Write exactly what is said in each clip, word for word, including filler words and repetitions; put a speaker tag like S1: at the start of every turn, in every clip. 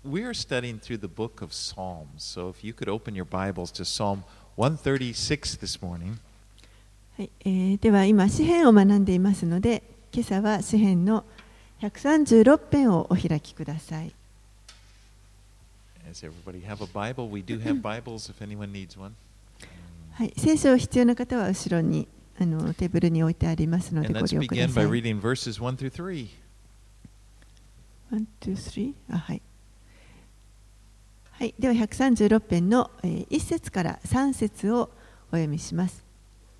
S1: we are studying through the book of Psalms. So if you could open your Bibles to Psalm one thirty-six this morning.
S2: はい、えー、では今詩編を学んでいますので、今朝は詩編のひゃくさんじゅうろく編をお開きください。
S1: Does everybody have a Bible? We do have Bibles if anyone needs one.
S2: はい、聖書を必要な方は後ろにあのテーブルに置いてありますので
S1: And
S2: ご
S1: let's
S2: 利用くだ
S1: begin
S2: さ
S1: by
S2: い。
S1: reading verses one through three.
S2: One, two, three. あ、はい。はい、ではひゃくさんじゅうろく編の、えー、いち節からさん節をお読みします。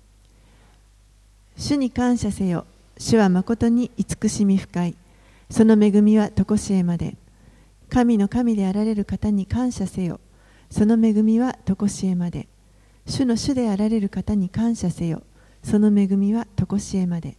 S2: 主に感謝せよ。主は誠に慈しみ深い。その恵みはとこしえまで。神の神であられる方に感謝せよ。その恵みはとこしえまで。主の主であられる方に感謝せよ。その恵みはとこしえまで。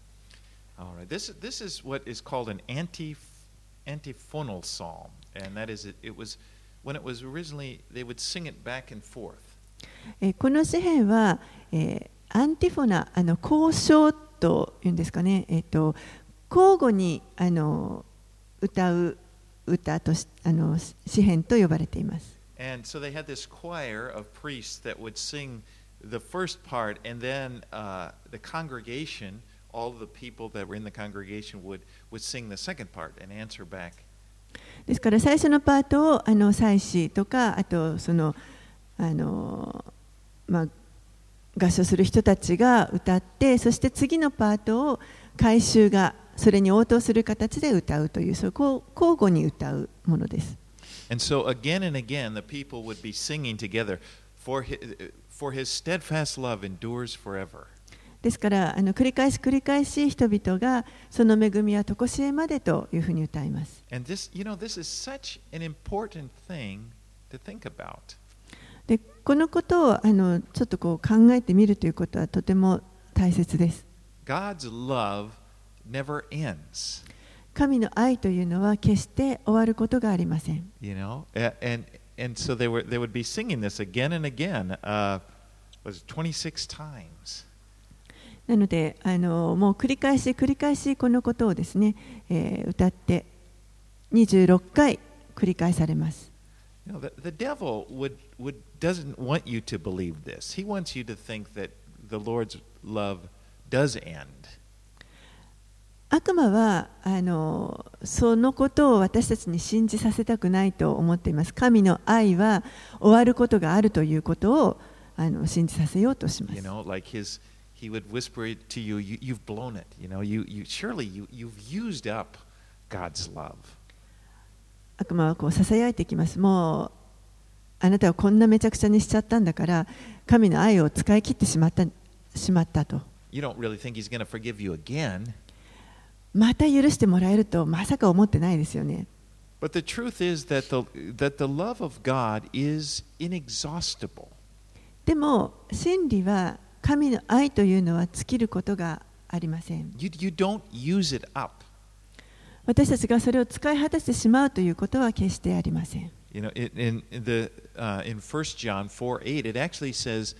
S1: All right. This, this is what is called an anti, antiphonal psalm. And that is, it, it was, when it was originally, they would sing it back and forth.
S2: えー、この詩編は、えー、アンティフォナ、あの交渉というんですかね、えー、と交互にあの歌う歌としあの詩編と呼ばれています。
S1: And so they had this choir of priests that would sing the first part, and then uh, the congregation, all of the people that were in the congregation would, would sing the second part and answer back.
S2: ですから最初のパートをあの祭司とか、あとそのあの、まあ、合唱する人たちが歌って、そして次のパートを改宗がそれに応答する形で歌うという、そう交互に歌うものです。
S1: And so again and again, the people would be singing together, for his, for his steadfast love endures forever.
S2: ですからあの繰り返し繰り返し人々がその恵みはとこしえまでというふうに歌います。
S1: And this, you know, this is such an important thing to think about.
S2: でこのことをあのちょっとこう考えてみるということはとても大切です。
S1: God's love never ends.
S2: 神の愛というのは決して終わることがありません。
S1: You know, and and so they were they would be singing this again and again. Uh, was twenty-six times.
S2: なのであのもう繰り返し繰り返しこのことをですね、えー、歌ってにじゅうろっかい繰り返されます。
S1: You know, the, the devil would would doesn't want you to believe this. He wants you to think that the Lord's love does end.
S2: 悪魔はあのそのことを私たちに信じさせたくないと思っています。神の愛は終わることがあるということをあの信じさせようとします。
S1: You know, like his, he would whisper it to you, you you've blown it. You know, you you surely you you've used up God's love.
S2: 悪魔はこう囁いてきます。もうあなたはこんなめちゃくちゃにしちゃったんだから、神の愛を使い切ってしまったしまったと。
S1: You don't really think he's going to forgive you again.
S2: また許してもらえるとまさか思ってないですよね。
S1: But the truth is that the that the love of God is inexhaustible.
S2: でも真理は神の愛というのは尽きることがありません。
S1: You you don't use it up.
S2: 私たちがそれを使い果たしてしまうということは決してありません。
S1: You know, in, in the uh, in First John four eight, it actually says,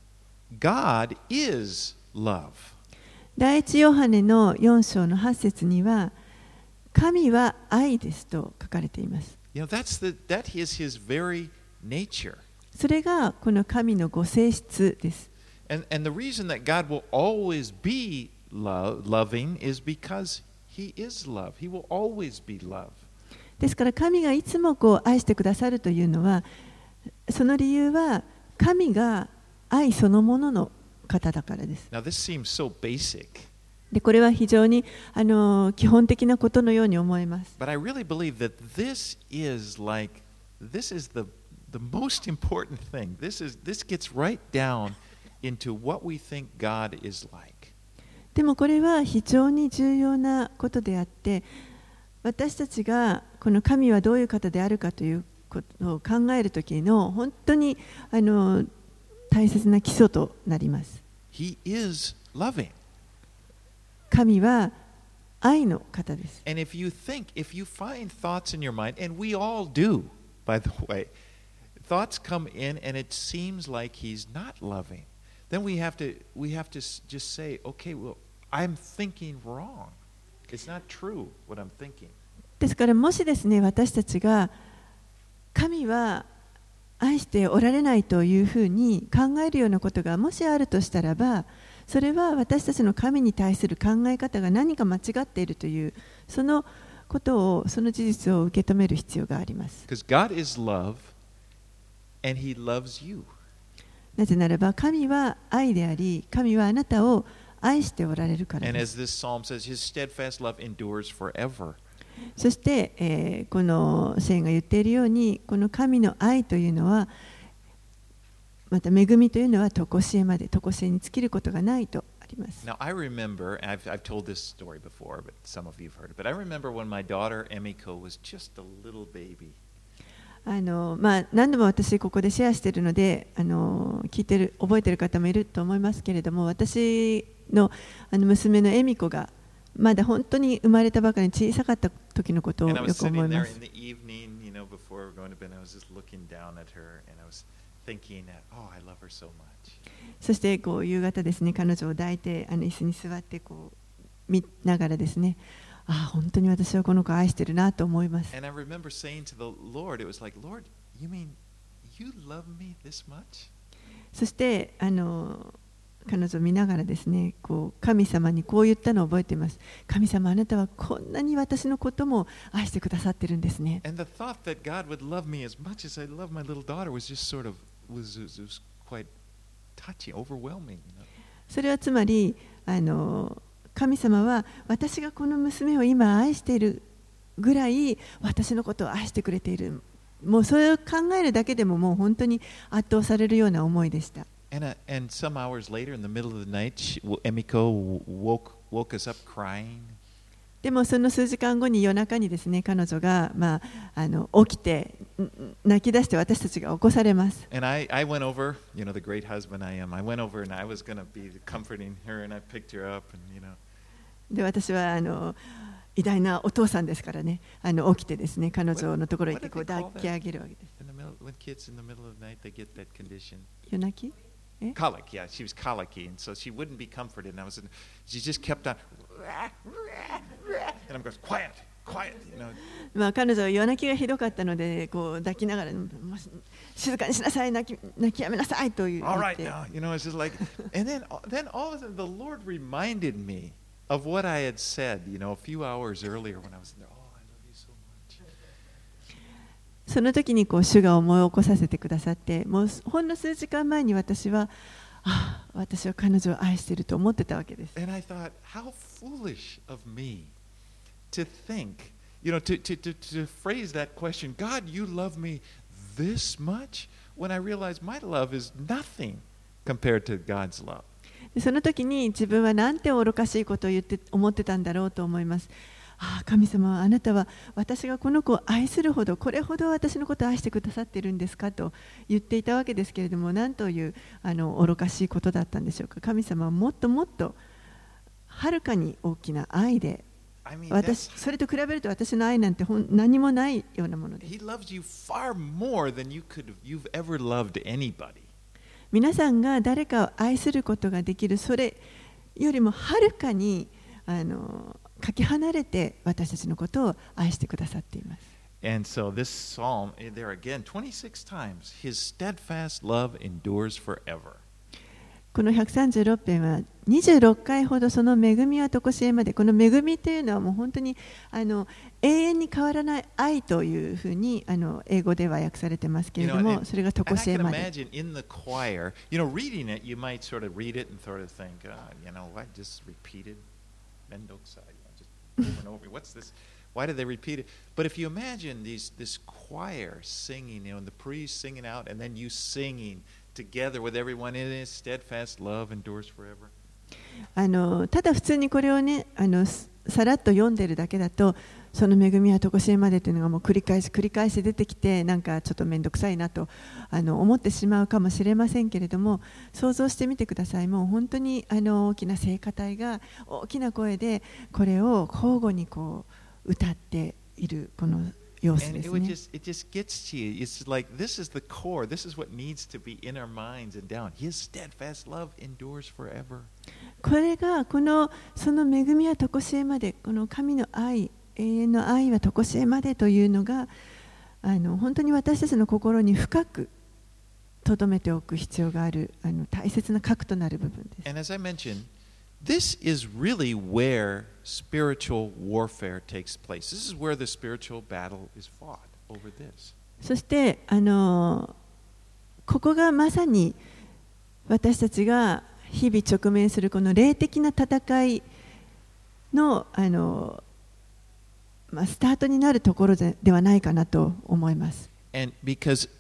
S1: "God is love."
S2: 第一ヨハネのよん章のはち節には、神は愛ですと書かれています。
S1: You know, that's the that is His very nature.
S2: それがこの神のご性質です。
S1: And and the reason that God will always be love, loving is because He is love. He will always be love.
S2: ですから神がいつもこう愛してくださるというのは、その理由は神が愛そのものの方だからです。
S1: Now this seems so basic.
S2: でこれは非常にあの基本的なことのように思えます。
S1: But I really believe that this is like this is the the most important thing. This is this gets right down into what we think God is like.
S2: でもこれは非常に重要なことであって、私たちがこの神はどういう方であるかということを考えるときの本当にあの大切な基礎となります。
S1: He is loving.
S2: 神は愛の方です。
S1: And if you think, if you find thoughts in your mind, and we all do, by the way, thoughts come in and it seems like He's not loving, then we have to we have to just say, okay, well, I'm thinking wrong. It's not true what I'm thinking.
S2: ですからもしですね、私たちが神は愛しておられないというふうに考えるようなことがもしあるとしたらば、それは私たちの神に対する考え方が何か間違っているというそのことを、その事実を受け止める必要があります。
S1: Because God is love, and He loves you.
S2: なぜならば神は愛であり、神はあなたを愛しておられるから
S1: And
S2: で
S1: as
S2: す。
S1: this psalm says, His steadfast love endures forever.
S2: そして、えーこの聖言が言っているように、この神の愛というのは、また恵みというのは常しえまで、常しえに尽きることがないとあります。
S1: Now, I remember, and I've, I've told this story before, but some of you have heard it, but I remember when my daughter Emiko was just a little baby.
S2: あのまあ、何度も私ここでシェアしているので、あの聞いてる覚えている方もいると思いますけれども、私の、あの娘の恵美子がまだ本当に生まれたばかり小さかった時のことを
S1: And I
S2: よ
S1: was
S2: く思い
S1: sitting
S2: ま
S1: there
S2: す。
S1: in the evening, you know, before going to bed, I was just looking down at her, and I was thinking that, oh, I love her so much.
S2: そしてこう夕方ですね、彼女を抱いてあの椅子に座ってこう見ながらですね、ああ本当に私はこの子を愛してるなと思います。
S1: And I remember saying to the Lord, it was like, Lord, you mean you love me this much?
S2: そしてあの彼女を見ながらですね、こう神様にこう言ったのを覚えています。神様、あなたはこんなに私のことも愛してくださってるんですね。
S1: And the thought that God would love me as much as I love my little daughter was just sort of was, was, was quite touching, overwhelming. You know?
S2: それはつまりあの神様は私がこの娘を今愛しているぐらい私のことを愛してくれている。もうそれを考えるだけでももう本当に圧倒されるような思いでした。
S1: And, uh, and some hours later, in the middle of the night, she, Emiko woke, woke us up crying.
S2: でもその数時間後に夜中にですね、彼女が、まあ、あの起きて泣き出して私たちが起こされます。
S1: And I, I went over, you know, the great husband I am, I went over and I was going to be comforting her, and I picked her up, and, you know.
S2: で私はあの偉大なお父さんですからね、あの起きてですね、彼女のところに行ってこう抱き上げるわけです。
S1: In the middle, when kids in the middle of the night, they get that condition.
S2: 夜泣き
S1: Colic, yeah, she was colicky, and so she wouldn't be comforted. And I was, in, she just kept on, and I'm going, quiet, quiet, you know.
S2: まあ彼女は夜泣きがひどかったので、こう抱きながら、静かにしなさい、泣き泣きやめなさいと言って。
S1: All right now, you know, it's just like, and then, then all of a sudden, the Lord reminded me of what I had said, you know, a few hours earlier when I was there. Oh, I love you so much.
S2: その時にこう主が思い起こさせてくださって、もうほんの数時間前に私は、ああ、私は彼女を愛していると思ってたわけです。
S1: And I thought, how foolish of me to think, you know, to, to, to, to phrase that question, God, you love me this much? When I realized my love is nothing compared to God's love.
S2: その時に自分はなんて愚かしいことを言って思ってたんだろうと思います。ああ、神様はあなたは私がこの子を愛するほど、これほど私のことを愛してくださっているんですかと言っていたわけですけれども、なんというあの愚かしいことだったんでしょうか。神様はもっともっとはるかに大きな愛で、
S1: I mean,
S2: 私
S1: that's,
S2: それと比べると私の愛なんてほん何もないようなものです。
S1: He loves you far more than you could, you've ever loved anybody.
S2: 皆さんが誰かを愛することができる、それよりもはるかにあのかけ離れて私たちのことを愛してくださっています。
S1: And so this psalm, there again, twenty-six times, His steadfast love endures forever.
S2: このひゃくさんじゅうろく編はにじゅうろっかいほどその恵みは常しえまで、この恵みというのはもう本当にあの永遠に変わらない愛というふうにあの英語では訳されてますけれども、それが常しえまで。
S1: And I can imagine in the choir, you know, reading it, you might sort of read it and sort of think, uh, you know, I just repeated Mendoza, you know, just over and over. What's this? Why did they repeat it? But if you imagine these, this choir singing, you know, and the priest singing out, and then you singing together with everyone in His steadfast love endures forever.
S2: あのただ普通にこれをね、あのさらっと読んでるだけだと、その恵みは常しえまでというのがもう繰り返し繰り返し出てきて、なんかちょっと面倒くさいなとあの思ってしまうかもしれませんけれども、想像してみてください。もう本当にあの大きな聖歌隊が大きな声でこれを交互にこう歌っているこの様子
S1: And
S2: で
S1: it
S2: す
S1: would
S2: ね。
S1: just, it just gets to you. It's like this is the core. This is what needs to be in our minds and down. His steadfast love endures forever.
S2: これがこのその恵みは常しえまで、この神の愛、永遠の愛は常しえまでというのが、ああの本当に私たちの心に深く留めておく必要があるあの大切な核となる部分です。
S1: And as I mentioned, this is really where spiritual warfare takes place. This is where the spiritual battle is fought over this.
S2: そしてあのここがまさに私たちが日々直面するこの霊的な戦いの、あの、まあ、スタートになるところで、ではないかなと思います。
S1: And because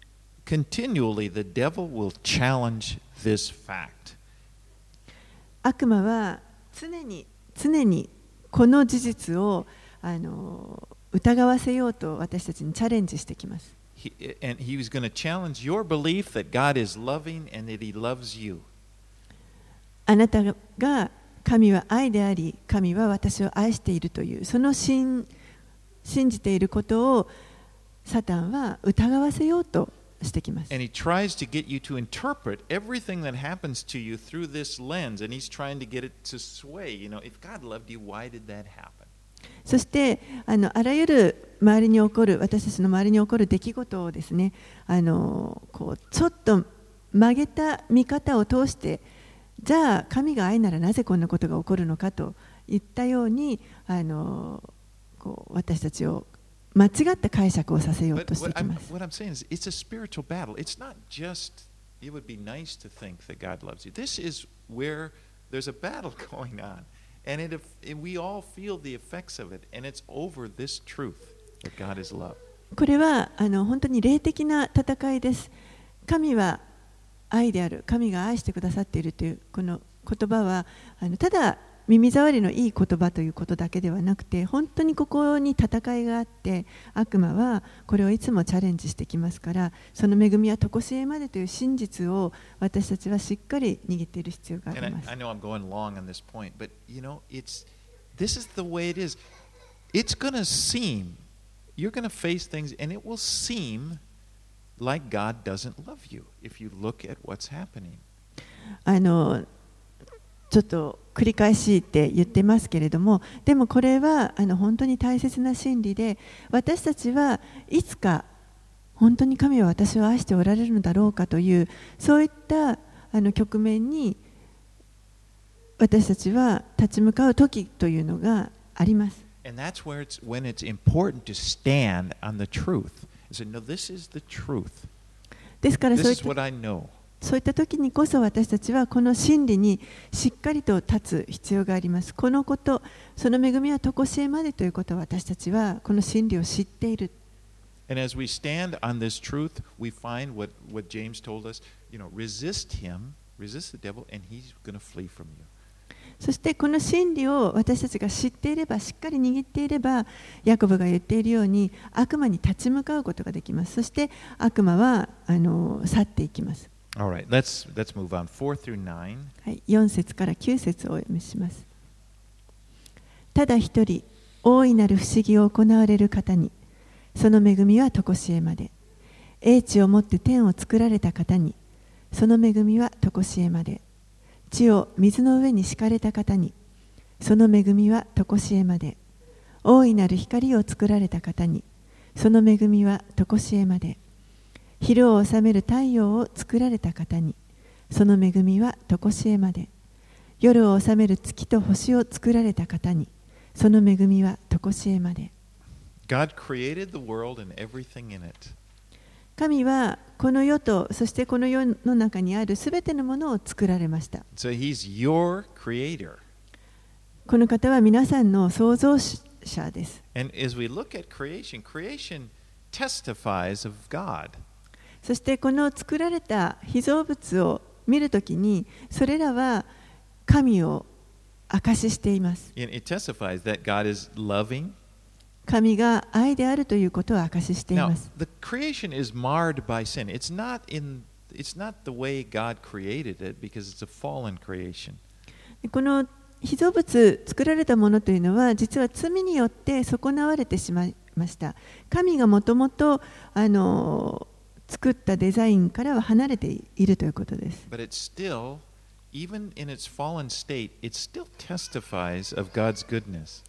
S1: continually the devil will challenge this fact.
S2: 悪魔は常に常にこの事実をあの疑わせようと私たちにチャレンジしてきます。
S1: He, and he was going to challenge your belief that God is loving and that he loves you.
S2: あなたが神は愛であり、神は私を愛しているというその信信じていることをサタンは疑わせようとしてきます。
S1: And he tries to get you to interpret everything that happens to you through this lens, and he's trying to get it to sway. You know, if God loved you, why did that happen?
S2: そしてあのあらゆる周りに起こる私たちの周りに起こる出来事をですね、あのこうちょっと曲げた見方を通して、じゃあ神が愛ならなぜこんなことが起こるのかといったようにあのこう私たちを間違った解釈をさせようとしていきます。
S1: What I'm saying is, it's a spiritual battle. It's not just, it would be nice to think that God loves you. This is where there's a battle going on. And, it, and we all feel the effects of it. And it's over this truth that God is love.
S2: これはあの本当に霊的な戦いです。神は愛である。神が愛してくださっているというこの言葉はあのただ耳障りのいい言葉ということだけではなくて、本当にここに戦いがあって、悪魔はこれをいつもチャレンジしてきますから、その恵みは常しえまでという真実を私たちはしっかり握っている必要があります。
S1: And I, I know I'm going long on this point, but you know, it's this is the way it is. It's going to seem, you're going to face things, and it will seem like God doesn't love you if you look at what's happening.
S2: あのちょっと繰り返しって言ってますけれども、でもこれはあの本当に大切な真理で、私たちはいつか本当に神は私を愛しておられるのだろうかというそういったあの局面に私たちは立ち向かう時というのがあります。
S1: And that's where it's when it's important to stand on the truth. And say, no, this is the truth.
S2: ですからそうい
S1: This
S2: っ
S1: is
S2: た
S1: what I know.
S2: そういった時にこそ私たちはこの真理にしっかりと立つ必要があります。このこと、その恵みは常しえまでということを私たちはこの真理を知っている。
S1: And as we stand on this truth, we find what, what James told us, you know, resist him, resist the devil, and he's going to flee from you.
S2: そしてこの真理を私たちが知っていれば、しっかり握っていれば、ヤコブが言っているように悪魔に立ち向かうことができます。そして悪魔はあの去っていきます。
S1: All right, let's, let's move on. four through nine.
S2: はい、よん節からきゅう節をお読みします。ただ一人、大いなる不思議を行われる方に、その恵みは常しえまで。英知をもって天を作られた方に、その恵みは常しえまで。地を水の上に敷かれた方に、その恵みは常しえまで。大いなる光を作られた方に、その恵みは常しえまで。昼を治める太陽を作られた方に、その恵みは常しえまで。夜を治める月と星を作られた方に、その恵みは常しえまで。
S1: God created the world and everything in it.
S2: 神はこの世と、そしてこの世の中にあるすべてのものを作られました。
S1: So he's your creator.
S2: この方は皆さんの創造者です。
S1: And as we look at creation, creation testifies of God.
S2: そしてこの作られた被造物を見るときに、それらは神を証ししています。
S1: It testifies that God is loving.
S2: 神が愛であるということを証ししてい
S1: Now,
S2: ます。
S1: the creation is marred by sin. It's not in, it's not the way God created it because it's a fallen creation.
S2: この被造物、作られたものというのは、実は罪によって損なわれてしまいました。神がもともとあの作ったデザインからは離れているということです。
S1: But it's still, even in its fallen state, it still testifies of God's goodness.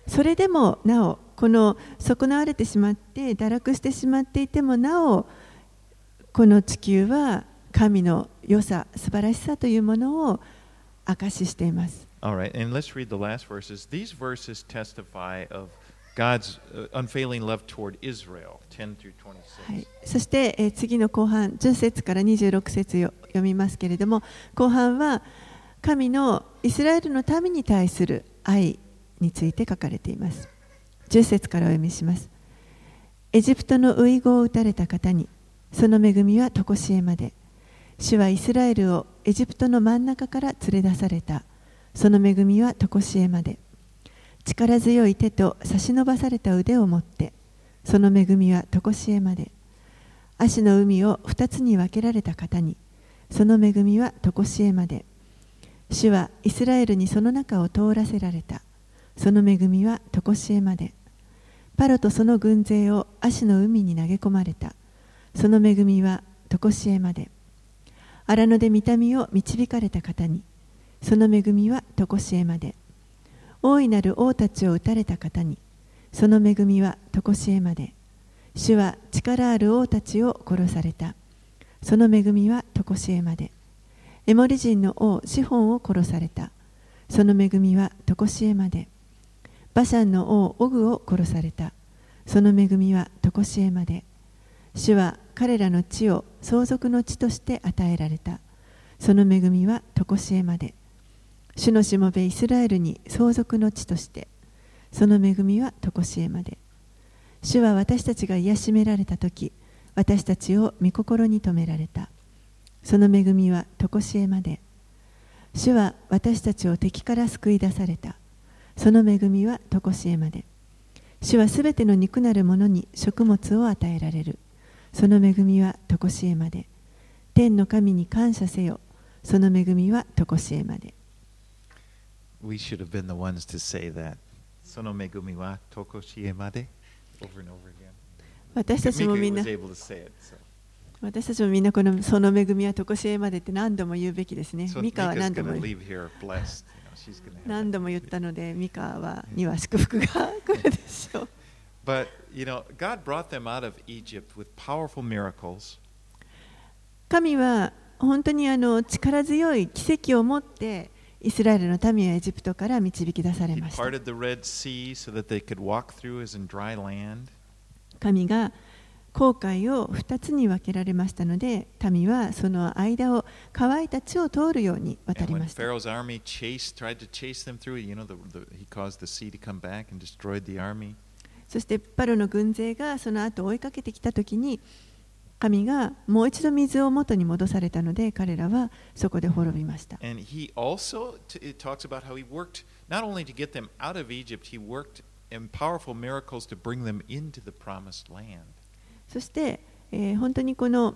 S2: それでもなおこの損なわれてしまって堕落してしまっていてもなおこの地球は神の良さ素晴らしさというものを証ししています。
S1: All right, and let's read the last verses. These verses testify of God's unfailing love toward Israel, ten through twenty-six.
S2: はい、そして、えー、次の後半じゅっ節からにじゅうろく節を読みますけれども、後半は神のイスラエルの民に対する愛について書かれています。じゅっ節からお読みします。エジプトの遺語を打たれた方にその恵みはとこしえまで。主はイスラエルをエジプトの真ん中から連れ出された。その恵みはとこしえまで。力強い手と差し伸ばされた腕を持って、その恵みはとこしえまで。足の海を二つに分けられた方に、その恵みはとこしえまで。主はイスラエルにその中を通らせられた。その恵みはとこしえまで。パロとその軍勢を足の海に投げ込まれた。その恵みはとこしえまで。荒野で御民を導かれた方に、その恵みはとこしえまで。大いなる王たちを討たれた方に、その恵みはとこしえまで。主は力ある王たちを殺された。その恵みはとこしえまで。エモリ人の王シホンを殺された。その恵みはとこしえまで。バシャンの王オグを殺された。その恵みはとこしえまで。主は彼らの地を相続の地として与えられた。その恵みはとこしえまで。主のしもべイスラエルに相続の地として、その恵みはとこしえまで。主は私たちが癒しめられたとき、私たちを御心に留められた。その恵みはとこしえまで。主は私たちを敵から救い出された。その恵みはとこしえまで。主はすべての肉なるものに食物を与えられる。その恵みはとこしえまで。天の神に感謝せよ。その恵みはとこしえまで。
S1: We should have been the ones to say that. その恵みはとこしえまで over and over again.
S2: 私たちもみんな、
S1: Mika was able to say it, so.
S2: 私たちもみんなこのその恵みはとこしえまでって何度も言うべきですね。
S1: So
S2: ミカは
S1: Mika's
S2: 何度
S1: going
S2: も
S1: to leave here blessed. You know, she's gonna have
S2: 何
S1: that.
S2: 度も言ったので、ミカはには祝福が来るでしょう。
S1: But, you know, God brought them out of Egypt with powerful miracles.
S2: 神は本当にあの力強い奇跡を持ってイスラエルの民はエジプトから導き出され
S1: He
S2: ました。
S1: parted the Red Sea so that they could walk through as in dry land.
S2: 神が紅海を二つに分けられましたので、民はその間を乾いた地を通るように渡
S1: And
S2: り
S1: when
S2: ました。
S1: Pharaoh's army chased, tried to chase them through, you know, the, the, he caused the sea to come back and destroyed the army.
S2: そしてパロの軍勢がその後追いかけてきたときに、神がもう一度水を元に戻されたので、彼らはそこで滅びました。
S1: And he also it talks about how he worked not only to get them out of Egypt, he worked in powerful miracles to bring them into the promised land.
S2: そして、えー、本当にこの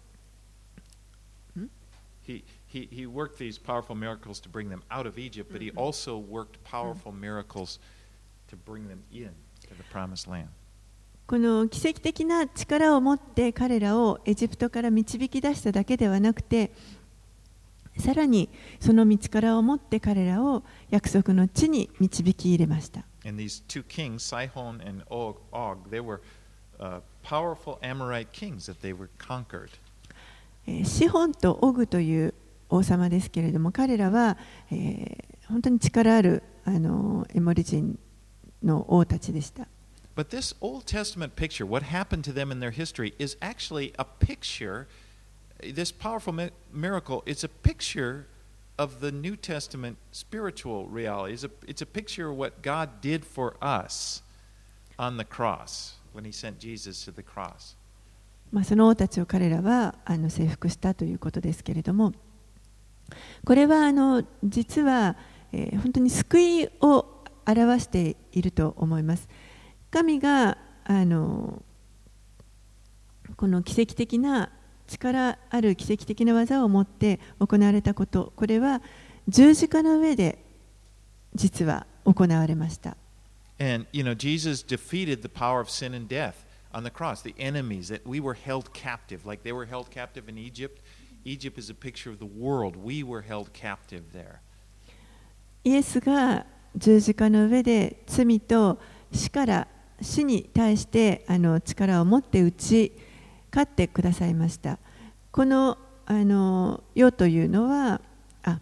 S1: He, he, he worked these powerful miracles to bring them out of Egypt, but he also worked powerful miracles to bring them in to the promised land.
S2: この奇跡的な力を持って彼らをエジプトから導き出しただけではなくて、さらにその力を持って彼らを約束の地に導き入れました。
S1: And these two kings, Sihon and Og, they were uh, powerful Amorite kings that they were conquered.
S2: シホンとオグという王様ですけれども、彼らは、えー、本当に力あるあのエモリ人の王たちでした。
S1: But this Old Testament picture, what happened to them in their history, is actually a picture. This powerful mi- miracle is a picture of the New Testament spiritual reality. It's a, it's a picture of what God did for us on the cross when He sent Jesus to the cross.
S2: まあその王たちを彼らはあの征服したということですけれども、これはあの実は、えー、本当に救いを表していると思います。神があのこの奇跡的な力ある奇跡的な技を持って行われたこと、これは十字架の上で実は行われました。
S1: And you know, Jesus defeated the power of sin and death on the cross, the enemies that we were held captive, like they were held captive in Egypt. Egypt is a picture of the world. We were held captive there.
S2: イエスが十字架の上で罪と死から死に対してあの力を持って打ち勝ってくださいました。このあの世というのはあ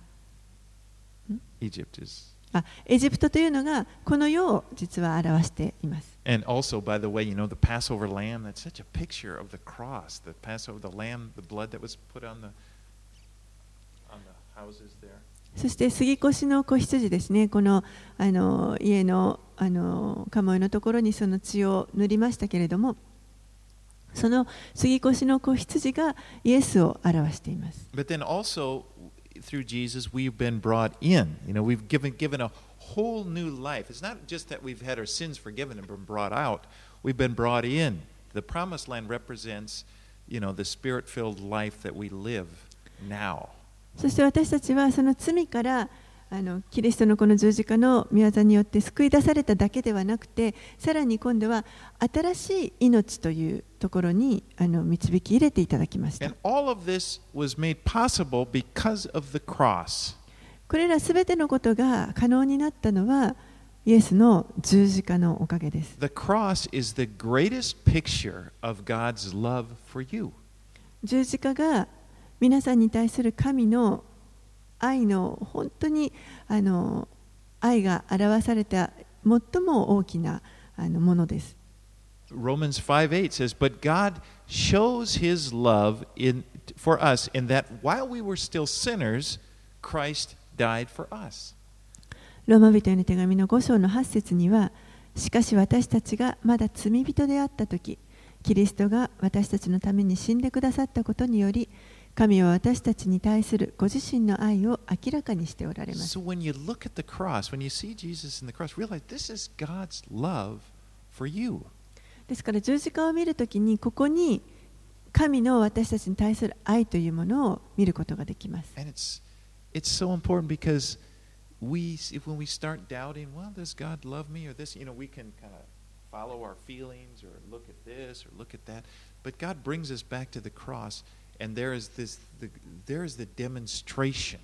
S1: Egypt is.
S2: あエジプトというのがこの世を実は表しています。
S1: And also, by the way, you know, the Passover lamb, that's such a picture of the cross. The Passover, the lamb, the blood that was put on the, on the houses there.
S2: そして杉越の子羊ですね。この、あの家の、あの鴨居のところにその血を塗りましたけれども、その杉越の子羊がイエスを表しています。
S1: But then also, through Jesus, we've been brought in. You know, we've given, given a whole new life. It's not just that we've had our sins forgiven and been brought out. We've been brought in. The promised land represents, you know, the spirit-filled life that we live now.
S2: そして私たちはその罪からあのキリストのこの十字架の御業によって救い出されただけではなくて、さらに今度は新しい命というところにあの導き入れていただきました。
S1: And all of this was made possible because of the cross.
S2: これらすべてのことが可能になったのはイエスの十字架のおかげです。
S1: The cross is the greatest picture of God's love for you.
S2: 十字架が皆さんに対する神の愛の本当にあの愛が表された最も大きなあのものです。
S1: Romans five eight says, But God shows his love in, for us in that while we were still sinners, Christ died for us.
S2: ローマ人への手紙のご章のはち節には、しかし私たちがまだ罪人であったとき、キリストが私たちのために死んでくださったことにより、神は私たちに対するご自身の愛を明らかにしておられます。
S1: So when you look at the cross, when you see Jesus in the cross, realize this is God's love for you.
S2: ですから十字架を見るときにここに神の私たちに対する愛というものを見ることができます。
S1: And it's it's so important because we if when we start doubting, well, does God love me or this, you know, we can kind of follow our feelings or look at this or look at that. But God brings us back to the cross. And there is this, the, there is the demonstration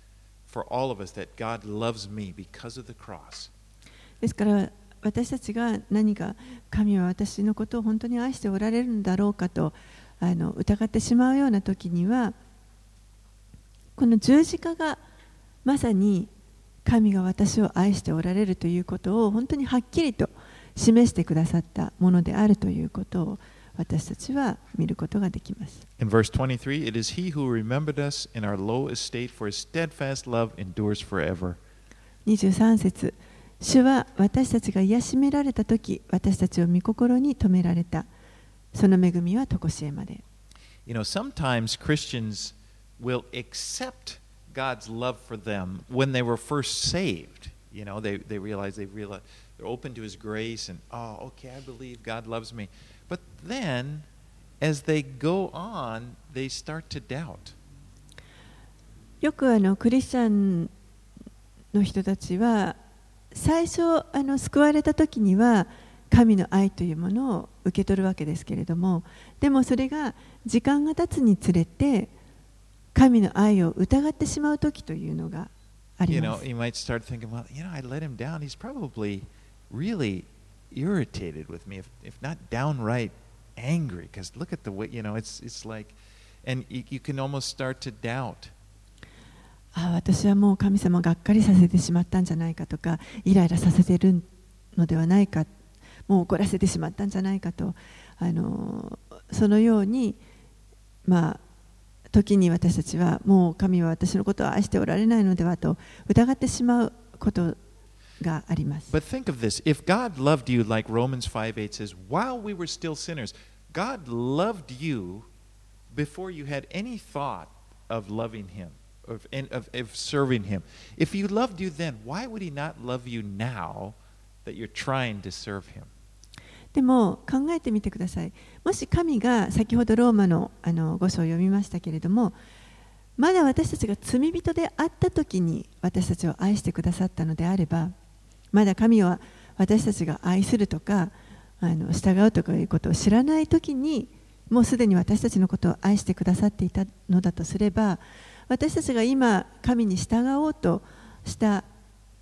S1: for all of us that God loves me because of the cross.
S2: ですから私たちが何か神は私のことを本当に愛しておられるんだろうかとあの疑ってしまうような時には、この十字架がまさに神が私を愛しておられるということを本当にはっきりと示してくださったものであるということを私たちは見ることができます。
S1: In verse twenty-three, it is He who remembered us in our low estate, for His steadfast love endures forever.
S2: にじゅうさん節、主は私たちが癒しめられたとき、私たちを御心に留められた。その恵みはとこしえまで。
S1: You know, sometimes Christians will accept God's love for them when they were first saved. You know, they, they realize they realize they're open to His grace and, oh, okay, I believe God loves me. But then, as they go on, they start to doubt.
S2: よくあのクリスチャンの人たちは最初あの救われた時には神の愛というものを受け取るわけですけれども、でもそれが時間が経つにつれて神の愛を疑ってしまう時というのがあります。
S1: You know, you might start thinking, well, you know, I let him down. He's probably really irritated with me, if, if not downright angry, because look at the way, you know, it's, it's like, and you, you can almost start to doubt.
S2: ああ、私はもう神様をがっかりさせてしまったんじゃないかとか、イライラさせているのではないか、もう怒らせてしまったんじゃないかと、あのそのように、まあ、時に私たちはもう神は私のことを愛しておられないのではと疑ってしまうことがあります。
S1: But think of this, if God loved you like Romans five eight says, while we were still sinners, God loved you before you had any thought of loving Him, of, of, of serving Him. If He loved you then, why would He not love you now that you're trying to serve Him?
S2: でも考えてみてください。もし神が先ほどローマのあのご章を読みましたけれども、まだ私たちが罪人であった時に私たちを愛してくださったのであれば、まだ神は私たちが愛するとかあの従うとかいうことを知らない時にもうすでに私たちのことを愛してくださっていたのだとすれば、私たちが今神に従おうとした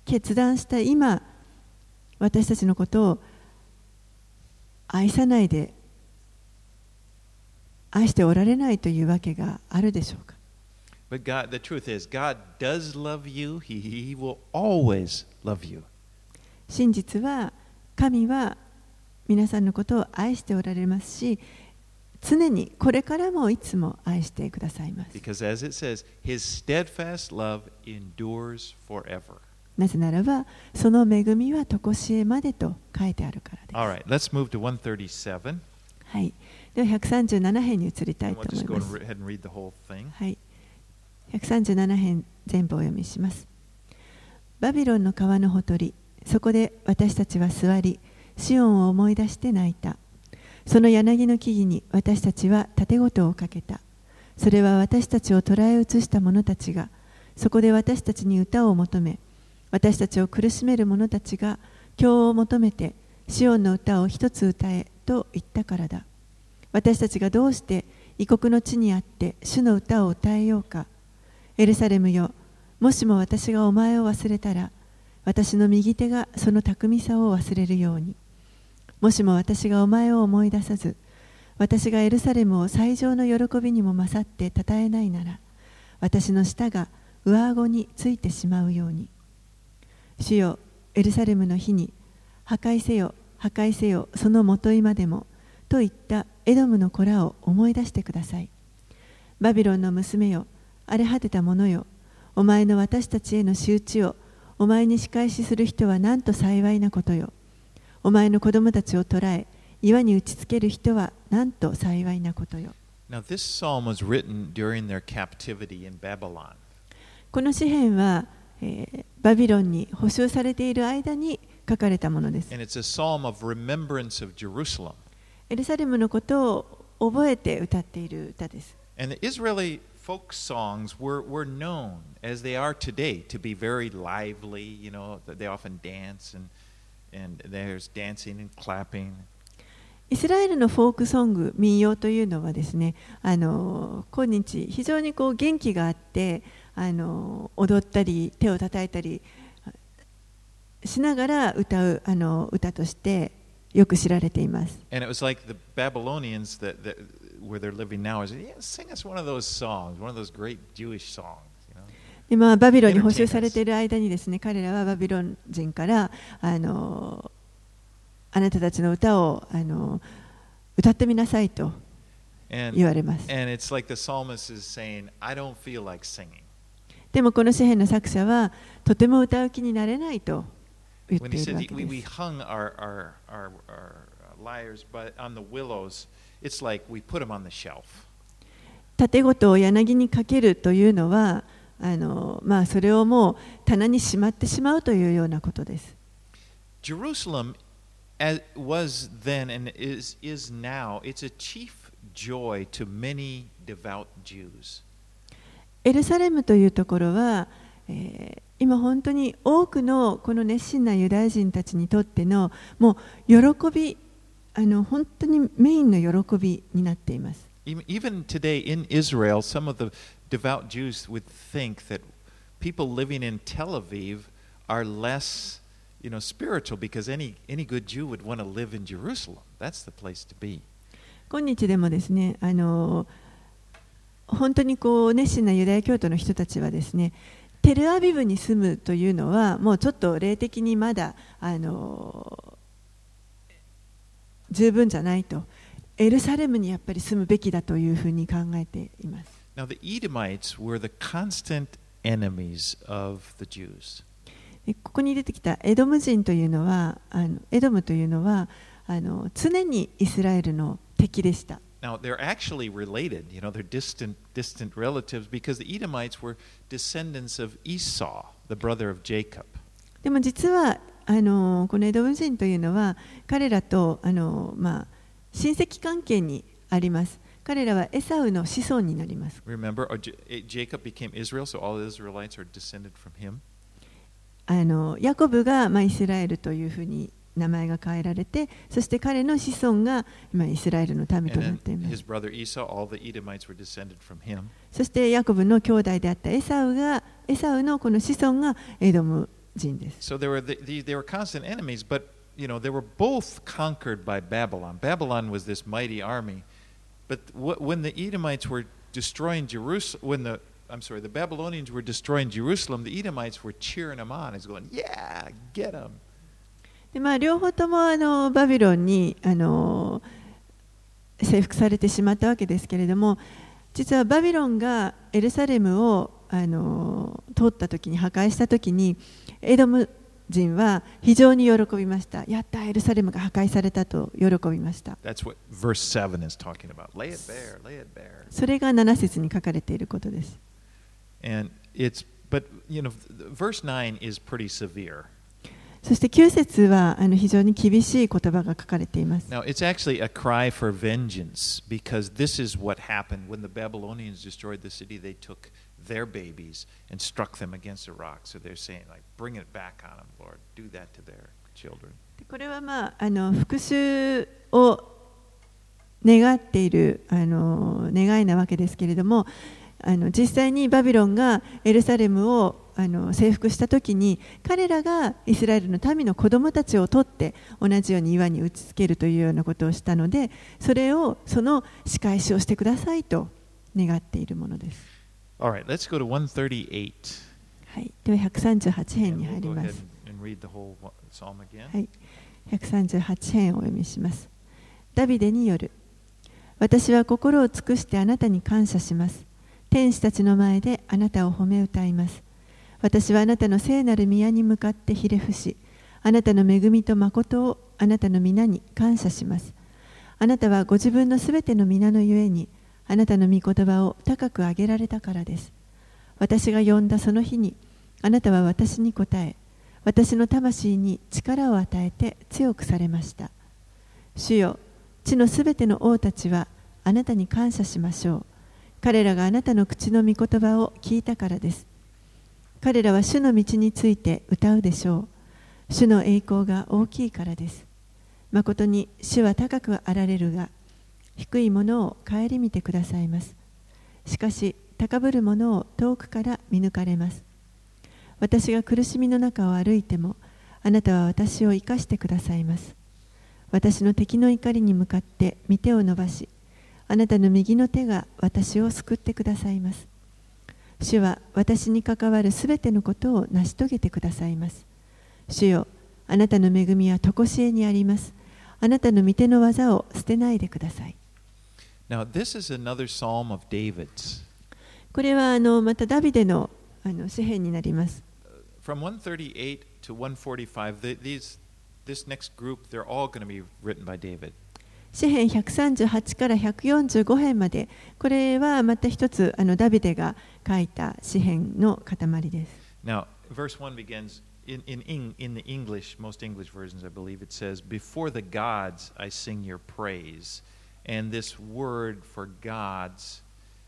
S2: 決断した今、私たちのことを愛さないで、愛しておられないというわけがあるでしょうか。
S1: But God, the truth is, God does love you. He, he will always love you.
S2: 真実は、神は皆さんのことを愛しておられますし、常にこれからもいつも愛してくださいます。
S1: Because as it says, His steadfast love endures forever.
S2: なぜならば、その恵みは常しえまでと書いてあるからです。
S1: All right, let's move to one thirty-seven.
S2: はい。ではひゃくさんじゅうなな編に移りたい
S1: And
S2: と
S1: we'll
S2: 思い
S1: just go
S2: ます。
S1: ahead and read the whole thing.
S2: はい。ひゃくさんじゅうなな編全部お読みします。バビロンの川のほとり、そこで私たちは座り、シオンを思い出して泣いた。その柳の木々に私たちは盾事をかけた。それは私たちを捉え移した者たちが、そこで私たちに歌を求め、私たちを苦しめる者たちが教を求めて、シオンの歌を一つ歌えと言ったからだ。私たちがどうして異国の地にあって主の歌を歌えようか。エルサレムよ、もしも私がお前を忘れたら、私の右手がその巧みさを忘れるように。もしも私がお前を思い出さず、私がエルサレムを最上の喜びにも勝って称えないなら、私の舌が上顎についてしまうように。主よ、エルサレムの日に、破壊せよ、破壊せよ、その元今でも、といったエドムの子らを思い出してください。バビロンの娘よ、荒れ果てた者よ、お前の私たちへの仕打ちを、お前に仕返しする人はなんと幸いなことよ。お前の子供たちを捕らえ、岩に打ちつける人はなんと幸いなことよ。
S1: Now, this psalm was written during their captivity in Babylon.
S2: この詩篇は、えー、バビロンに捕囚されている間に書かれたものです。
S1: And it's a psalm of remembrance of Jerusalem.
S2: エルサレムのことを覚えて歌っている歌です。
S1: And the Israeli folk songs were, were known, as they are today, to be very lively. You know, they often dance and, and there's dancing and clapping.
S2: イスラエルのフォークソング、民謡というのはですね、あの今日非常にこう元気があって、あの踊ったり手を叩いたりしながら歌うあの歌としてよく知られています。
S1: And it was like the Babylonians that, that where they're living now is, yeah, sing us one of those songs, one of those great Jewish songs.
S2: 今バビロンに捕囚されている間にですね、彼らはバビロン人からあのあなたたちの歌をあの歌ってみなさいと言われます。
S1: And, and it's like the psalmist is saying, I don't feel like singing.
S2: でもこの詩篇の作者はとても歌う気になれないと言っているわけ
S1: When he said we, we
S2: です。
S1: hung our, our, our, our lyres but on the willows, it's like we put them on the shelf.
S2: 盾事を柳にかけるというのはあの、まあ、それをもう棚にしまってしまうというようなことです。
S1: Jerusalem as was then and is, is now, it's a chief joy to many devout Jews.
S2: エルサレムというところは、えー、今本当に多くのこの熱心なユダヤ人たちにとってのもう喜び、あの本当にメインの喜びになっています。
S1: Even today in Israel, some of the devout Jews would think that people living in Tel Aviv are less, you know, spiritual because any any good Jew would want to live in Jerusalem. That's the place to be.
S2: 今日でもですね、あの本当にこう熱心なユダヤ教徒の人たちはですね、テルアビブに住むというのはもうちょっと霊的にまだあの十分じゃないと、エルサレムにやっぱり住むべきだというふうに考えています。
S1: Now the Edomites were the constant enemies of the Jews.
S2: ここに出てきたエドム人というのは、あのエドムというのはあの常にイスラエルの敵でした。
S1: Now they're actually related, you know, they're distant, distant relatives because the Edomites were descendants of Esau, the brother of Jacob.
S2: でも実はあのこのエドム人というのは彼らとあの、まあ、親戚関係にあります。彼らはエサウの子孫になります。
S1: Remember, Jacob became Israel, so all the Israelites are descended from him.
S2: あのヤコブが、まあ、イスラエルというふうに名前が変えられて、そして彼の子孫が今イスラエルの民となっています。そしてヤコブの兄弟であったエサウが、エサウのこの子孫がエドム人です。
S1: So they were the, the, they were constant enemies, but you know they were both conquered by Babylon. Babylon was this mighty army, but w- when the Edomites were destroying Jerusalem, when the I'm sorry, the Babylonians were destroying Jerusalem, the Edomites were cheering them on. It's going, yeah, get them.
S2: でまあ、両方ともあのバビロンにあの征服されてしまったわけですけれども、実はバビロンがエルサレムをあの通った時に破壊した時にエドム人は非常に喜びました。やった、エルサレムが破壊されたと喜びました。
S1: That's what verse seven is talking about. Lay it bare, lay it bare.
S2: それがなな節に書かれていることです。
S1: And it's, but you know, verse nine is pretty severe.
S2: そしてきゅう節はあの非常に厳しい言葉が書かれています。
S1: Now, it's actually a cry for vengeance because this is what happened when the Babylonians destroyed the city. They took their babies and struck them against a rock. So they're saying, like, bring it back on them, Lord. Do that to their children.
S2: これはまああの復讐を願っているあの願いなわけですけれども、あの実際にバビロンがエルサレムをあの征服したときに彼らがイスラエルの民の子供たちを取って同じように岩に打ちつけるというようなことをしたので、それをその仕返しをしてくださいと願っているものです。
S1: All right, let's go to one thirty-eight.
S2: はい、ではひゃくさんじゅうはち編に入ります。はい、ひゃくさんじゅうはち編をお読みします。ダビデによる。私は心を尽くしてあなたに感謝します。天使たちの前であなたを褒め歌います。私はあなたの聖なる宮に向かってひれ伏し、あなたの恵みと誠をあなたの皆に感謝します。あなたはご自分のすべての皆のゆえに、あなたの御言葉を高く上げられたからです。私が呼んだその日に、あなたは私に答え、私の魂に力を与えて強くされました。主よ、地のすべての王たちはあなたに感謝しましょう。彼らがあなたの口の御言葉を聞いたからです。彼らは主の道について歌うでしょう。主の栄光が大きいからです。まことに主は高くあられるが、低いものを顧みてくださいます。しかし、高ぶるものを遠くから見抜かれます。私が苦しみの中を歩いても、あなたは私を生かしてくださいます。私の敵の怒りに向かって御手を伸ばし、あなたの右の手が私を救ってくださいます。主は私に関わるすべてのことを成し遂げてくださいます。主よ、あなたの恵みは常しえにあります。あなたの御手の技を捨てないでください。
S1: Now, this is another psalm of David's.
S2: これはあのまたダビデのあの詩編になります。
S1: From one thirty-eight to one forty-five, these, this next group, they're all going to be written by David.
S2: 詩編ひゃくさんじゅうはちからひゃくよんじゅうご編まで、これはまた一つあのダビデが書いた詩編の塊です。
S1: Now, verse one begins in, in, in the English, most English versions, I believe, it says, Before the gods I sing your praise. And this word for gods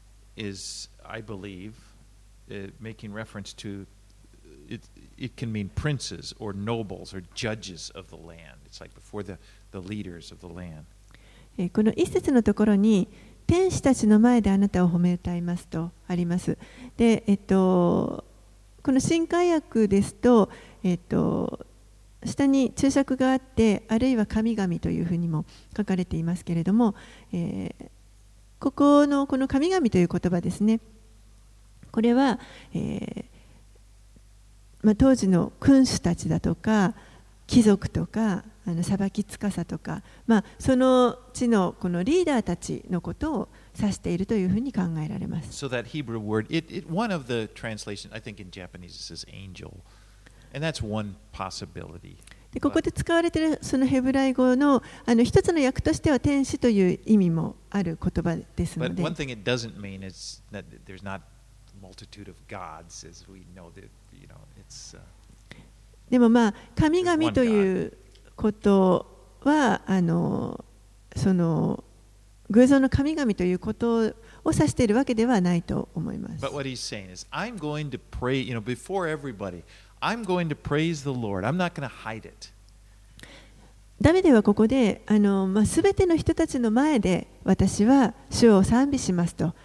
S1: is, I believe, uh, making reference to, it, it can mean princes or nobles or judges of the land. It's like before the, the leaders of the land.
S2: この一節のところに天使たちの前であなたを褒め歌いますとあります。で、えっと、この新海訳ですと、えっと、下に注釈があって、あるいは神々というふうにも書かれていますけれども、えー、ここのこの神々という言葉ですね。これは、えーまあ、当時の君主たちだとか貴族とかあの裁き司とか、まあ、その地のこのリーダーたちのことを指しているというふうに考えられます。
S1: So that Hebrew word, it, it, one of the translations, I think in Japanese it says angel, and that's one possibility.
S2: でここで使われているそのヘブライ語のあの一つの訳としては天使という意味もある言葉ですので。
S1: But one thing it doesn't mean is that there's not a multitude of gods, as we know that, you know, it's. Uh,
S2: でもまあ神々ということはあのその偶像の神々ということを指しているわけではないと思います。
S1: But what he's saying is, I'm going to pray, you know, before everybody, I'm going to praise the Lord. I'm not going to hide it.
S2: ダビデはここであの、まあ、全ての人たちの前で私は主を賛美しますと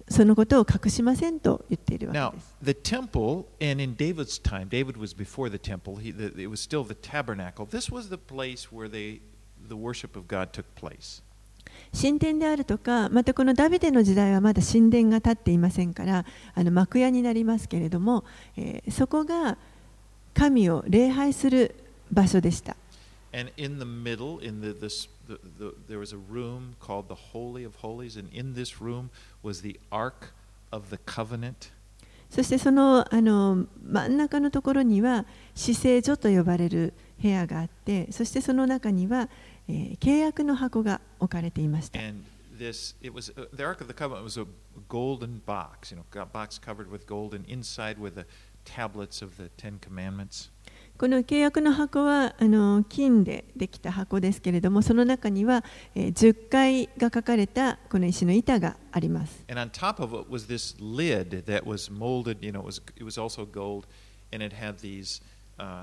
S2: そのことを隠しませんと言っているわ
S1: Now,
S2: けです。
S1: the temple, and in David's time, David was before the temple, he, the, it was still the tabernacle. This was the place where they, the worship of God took place.
S2: 神殿であるとか、またこのダビデの時代はまだ神殿が建っていませんから、あの幕屋になりますけれども、えー、そこが神を礼拝する場所でした。
S1: And in the middle, in the, this, the, the, there was a room called the Holy of Holies, and in this room was the Ark of the Covenant.
S2: そしてその、あの真ん中のところには至聖所と呼ばれる部屋があって、そしてその中には、えー、契約の箱が置かれていました。
S1: And this, it was, uh, the Ark of the Covenant was a golden box, you know, a box covered with gold, and inside were the tablets of the Ten Commandments.
S2: この契約の箱はあの金でできた箱ですけれども、その中には、えー、じゅっかいが書かれたこの石の板があります。
S1: And on top of it was this lid that was molded, you know, it was, it was also gold, and it had these, uh,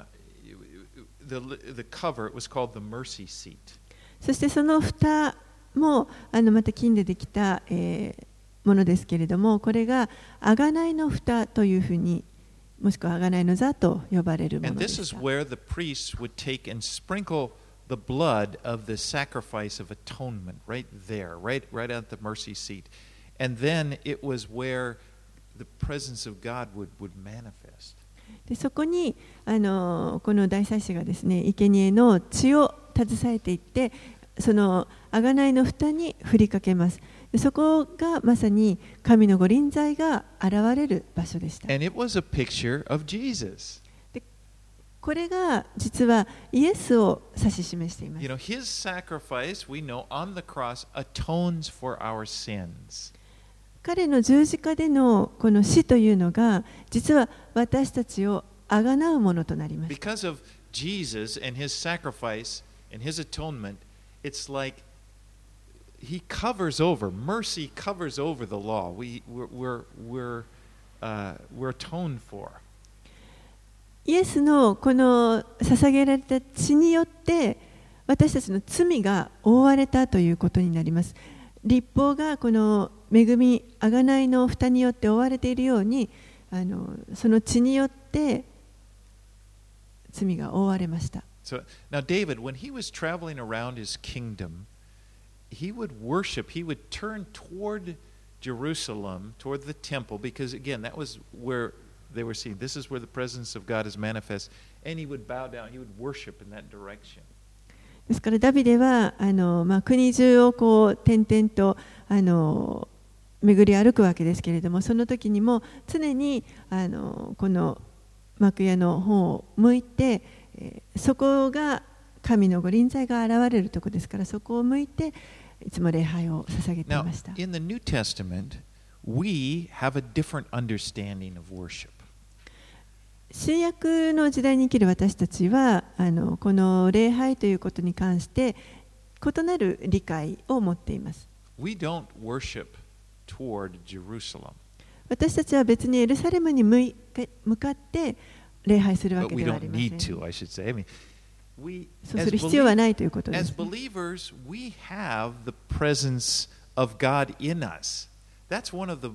S1: the, the cover, it was called the mercy seat.
S2: そしてその蓋もあのまた金でできた、えー、ものですけれども、これが贖いの蓋というふうに、もしくは贖いの座と呼ばれるものでした。
S1: And this is where the priests would take and sprinkle the blood of the sacrifice of atonement right there, right, right at the mercy seat. And then it was where the presence of God would, would manifest.
S2: でそこにあのこの大祭司がですね、生贄の血を携えていって、その贖いの蓋に振りかけます。でそこがまさに神の御臨在が現れる場所でした。
S1: And it was a picture of Jesus.
S2: でこれが実はイエスを指し示しています。
S1: You know, his sacrifice, we know, on the cross atones for our sins.
S2: 彼の十字架でのこの死というのが、実は私たちをあがなうものとなりました。
S1: Because of Jesus and his sacrifice and his atonement, it's like he covers over, mercy covers over the law. We, we're, we're, we're, uh, we're atoned for.
S2: イエスのこの捧げられた血によって私たちの罪が覆われたということになります。律法がこの恵み、贖いの蓋によって覆われているように、あのその血によって罪が覆われました。
S1: So now David, when he was traveling around his kingdom, he would worship, he would turn toward Jerusalem, toward the temple, because again, that was where they were seeing, this is where the presence of God is manifest, and he would bow down, he would worship in that direction.
S2: ですからダビデはあの、まあ、国中をこう転々とあの巡り歩くわけですけれども、その時にも常にあのこの幕屋の方を向いて、えー、そこが神の御臨在が現れるところですから、そこを向いていつも礼拝を捧げていました。
S1: Now, in the New Testament, we have a different understanding of worship.
S2: 新約の時代に生きる私たちはあのこの礼拝ということに関して異なる理解を持っています。
S1: We don't worship toward Jerusalem.
S2: 私たちは別にエルサレムに向かって礼拝するわ
S1: But
S2: け
S1: we
S2: ではあ
S1: don't
S2: りませ
S1: need
S2: ん。
S1: to, I should say. I mean, we,
S2: そう
S1: as,
S2: する必要は
S1: belie-
S2: ないということで
S1: as
S2: す。
S1: believers, we have the presence of God in us. That's one of the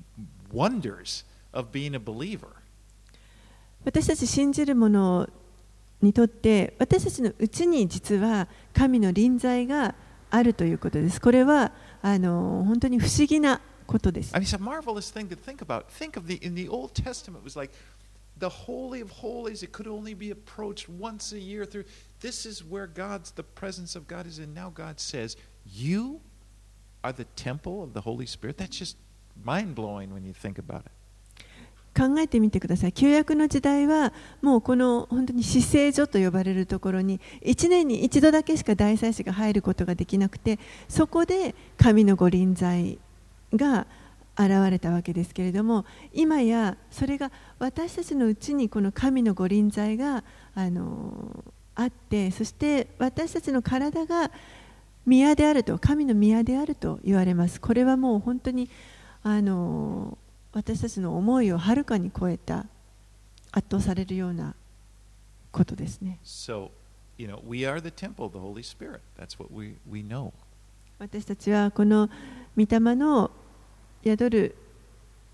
S1: wonders of being a believer.
S2: 私たち信じる者にとって私たちのうちに実は神の臨在があるということです。これはあの本当に不思議なことです。
S1: I mean, it's a marvelous thing to think about. Think of the in the Old Testament, it was like the Holy of Holies. It could only be approached once a year through. This is where God's the presence of God is, and now God says, "You are the temple of the Holy Spirit." That's just mind blowing when you think about it.
S2: 考えてみてください。旧約の時代はもうこの本当に至聖所と呼ばれるところにいちねんに一度だけしか大祭司が入ることができなくて、そこで神の御臨在が現れたわけですけれども、今やそれが私たちのうちにこの神の御臨在があのあって、そして私たちの体が宮であると、神の宮であると言われます。これはもう本当にあの私たちの思いをはるかに超えた、圧倒されるようなことですね。
S1: So, you know, we are the temple of the Holy Spirit. That's what we, we know.
S2: 私たちはこの御霊の宿る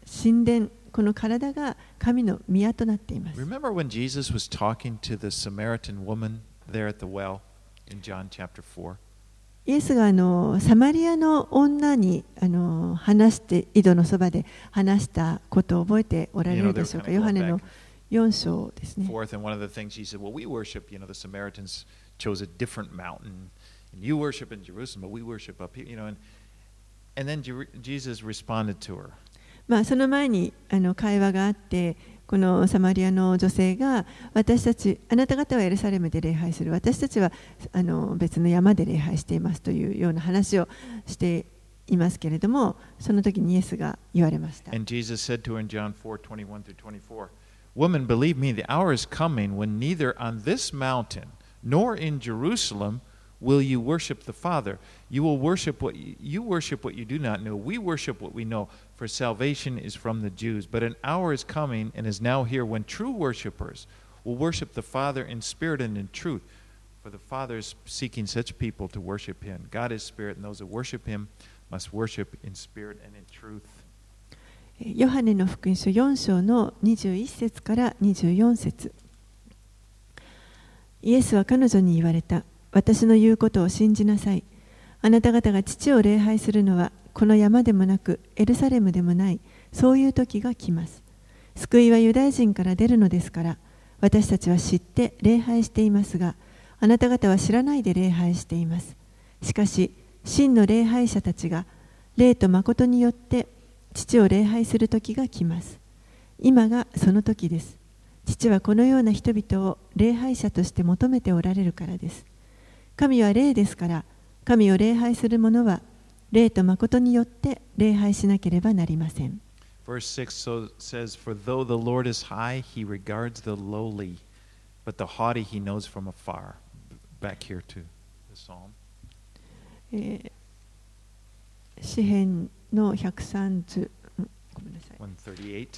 S2: 神殿、この体が神の宮となっています。
S1: Remember when Jesus was talking to the Samaritan woman there at the well in John chapter four?
S2: イエスがあのサマリアの女にあの話して、井戸のそばで話したことを覚えておられるでしょうか。ヨハネのよん章ですね。
S1: Fourth, and one of the things he said, well, we worship, you know, the Samaritans chose a different mountain, and you worship in Jerusalem, but we worship up here, you know, and, and then Jesus responded to her.
S2: まあその前にあの会話があって、このサマリアの女性が、私たち、あなた方はエルサレムで礼拝する、私たちはあの別の山で礼拝していますというような話をしていますけれども、その時にイエスが言われました。
S1: And Jesus said to her in John four twenty-one through twenty-four, Woman, believe me, the hour is coming when neither on this mountain nor in Jerusalem will you worship the Father. You will worship what you, you worship what you do not know. We worship what we know, for salvation is from the Jews. But an hour is coming and is now here when true worshipers will worship the Father in spirit and in truth. For the Father is seeking such people to worship him. God is spirit, and those that worship him must worship in spirit and in truth.
S2: ヨハネの福音書よん章のにじゅういち節からにじゅうよん節。イエスは彼女に言われた。私の言うことを信じなさい。あなた方が父を礼拝するのはこの山でもなくエルサレムでもない、そういう時が来ます。救いはユダヤ人から出るのですから、私たちは知って礼拝していますが、あなた方は知らないで礼拝しています。しかし真の礼拝者たちが霊と誠によって父を礼拝する時が来ます。今がその時です。父はこのような人々を礼拝者として求めておられるからです。神は霊ですから、神を礼拝する者は霊と誠によって礼拝しなければなりません。
S1: Verse six so says, For though the Lord is high, he regards the lowly, but the haughty he knows from afar. Back here to the psalm.
S2: えー、詩編のひゃくさんじゅう、ごめんなさい。
S1: one thirty-eight.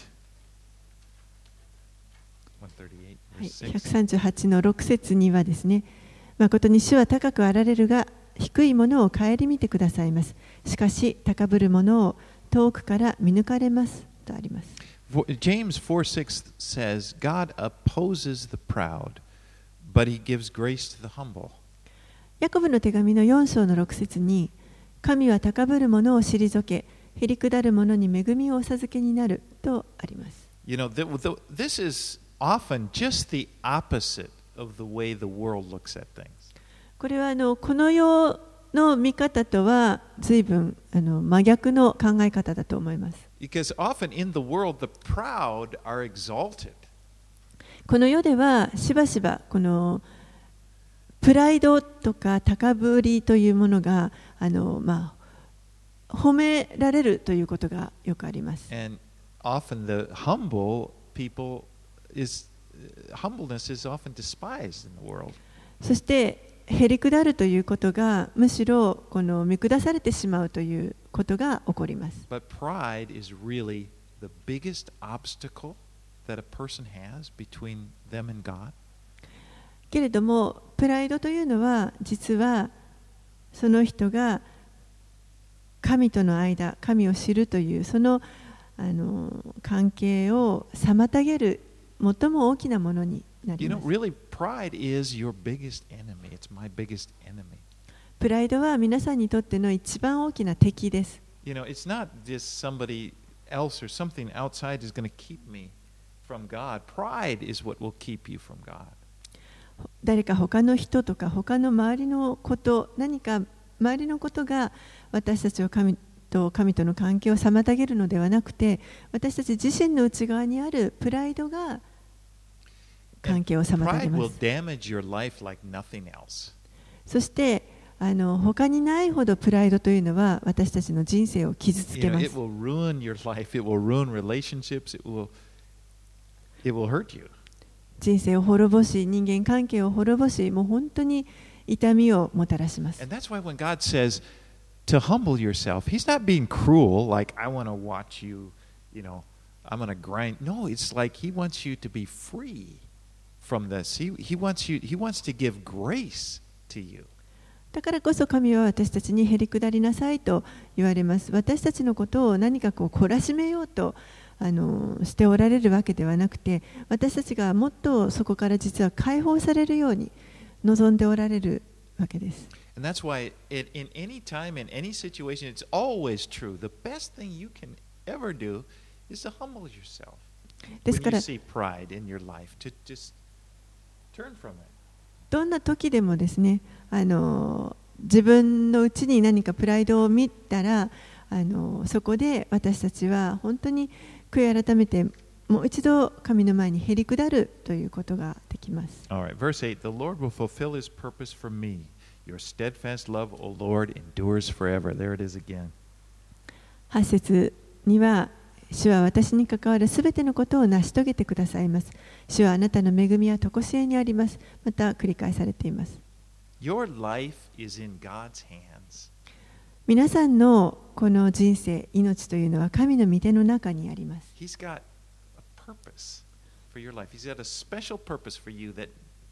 S1: one thirty-eight,
S2: はい、
S1: verse
S2: ひゃく
S1: six.
S2: さんじゅうはちのろく節にはですね、誠に主は高くあられるが、低いものを顧みてくださいます。しかし、高ぶるものを遠くから見抜かれますとあります。
S1: James four six says, God opposes the proud, but he gives grace to the humble.
S2: ヤコブの手紙のよん章のろく節に、神は高ぶる者を退け、へりくだる者に恵みをお授けになるとあります。
S1: You know, the, the, this is often just the opposite of the way the world looks at things.
S2: これはあのこの世の見方とは随分あの真逆の考え方だと思います。
S1: Because often in the world, the proud are exalted.
S2: この世ではしばしばこのプライドとか高ぶりというものがあの、まあ、褒められるということがよくあります。
S1: And often the humble people is humbleness is often despised in the world.
S2: そしてへりくだるということがむしろこの見下されてしまうということが起こります。
S1: But pride is really the biggest obstacle that a person has between them and God.
S2: けれどもプライドというのは実はその人が神との間、神を知るというその、あの関係を妨げる最も大きなものになり
S1: You
S2: ま
S1: know,
S2: す。
S1: really, pride is your biggest enemy. It's my biggest enemy.
S2: プライドは皆さんにとっての一番大きな敵です。
S1: You know, it's not just somebody else or something outside is going to keep me from God. Pride is what will keep you from God.
S2: 誰か他の人とか他の周りのこと、何か周りのことが私たちを神と神との関係を妨げるのではなくて、私たち自身の内側にあるプライドが関係を妨げ
S1: Pride
S2: ま
S1: will
S2: す。
S1: damage your life like nothing else.
S2: そしてあの他にないほどプライドというのは私たちの人生を傷つ
S1: You
S2: け
S1: know,
S2: ま
S1: it
S2: す。
S1: will ruin your life. It will ruin relationships. It will, it will hurt you.
S2: 人生を滅ぼし、人間関係を滅ぼし、もう本当に痛みをもたらします。
S1: And that's why when God says to humble yourself, He's not being cruel, like, I want to watch you, you know, I'm going to grind. No, it's like He wants you to be free from this. He, he, wants you, he wants to give grace to you.
S2: だからこそ神は私たちにへりくだりなさいと言われます。私たちのことを何かこう懲らしめようとあのしておられるわけではなくて、私たちがもっとそこから実は解放されるように望んでおられるわけです。
S1: And that's why it, in any time, in any situation, it's always true. The best thing you can ever do is to humble yourself.
S2: です
S1: When
S2: か
S1: you
S2: ら
S1: see pride in your life, to just turn from it.
S2: どんな時でもですね、あの自分のうちに何かプライドを見たら、あのそこで私たちは本当に悔い改めてもう一度神の前にへり下るということができます。
S1: All right, verse eight. The Lord will fulfill his purpose for me. Your steadfast love, O Lord, endures forever. There it is again.
S2: はち節には、主は私に関わるすべてのことを成し遂げてくださいます。主はあなたの恵みは常しえにあります。また繰り返されています。
S1: Your life is in God's hands.
S2: 皆さんのこの人生、命というのは神の御手の中にあります。
S1: He's got a purpose for your life. He's got a special purpose for you that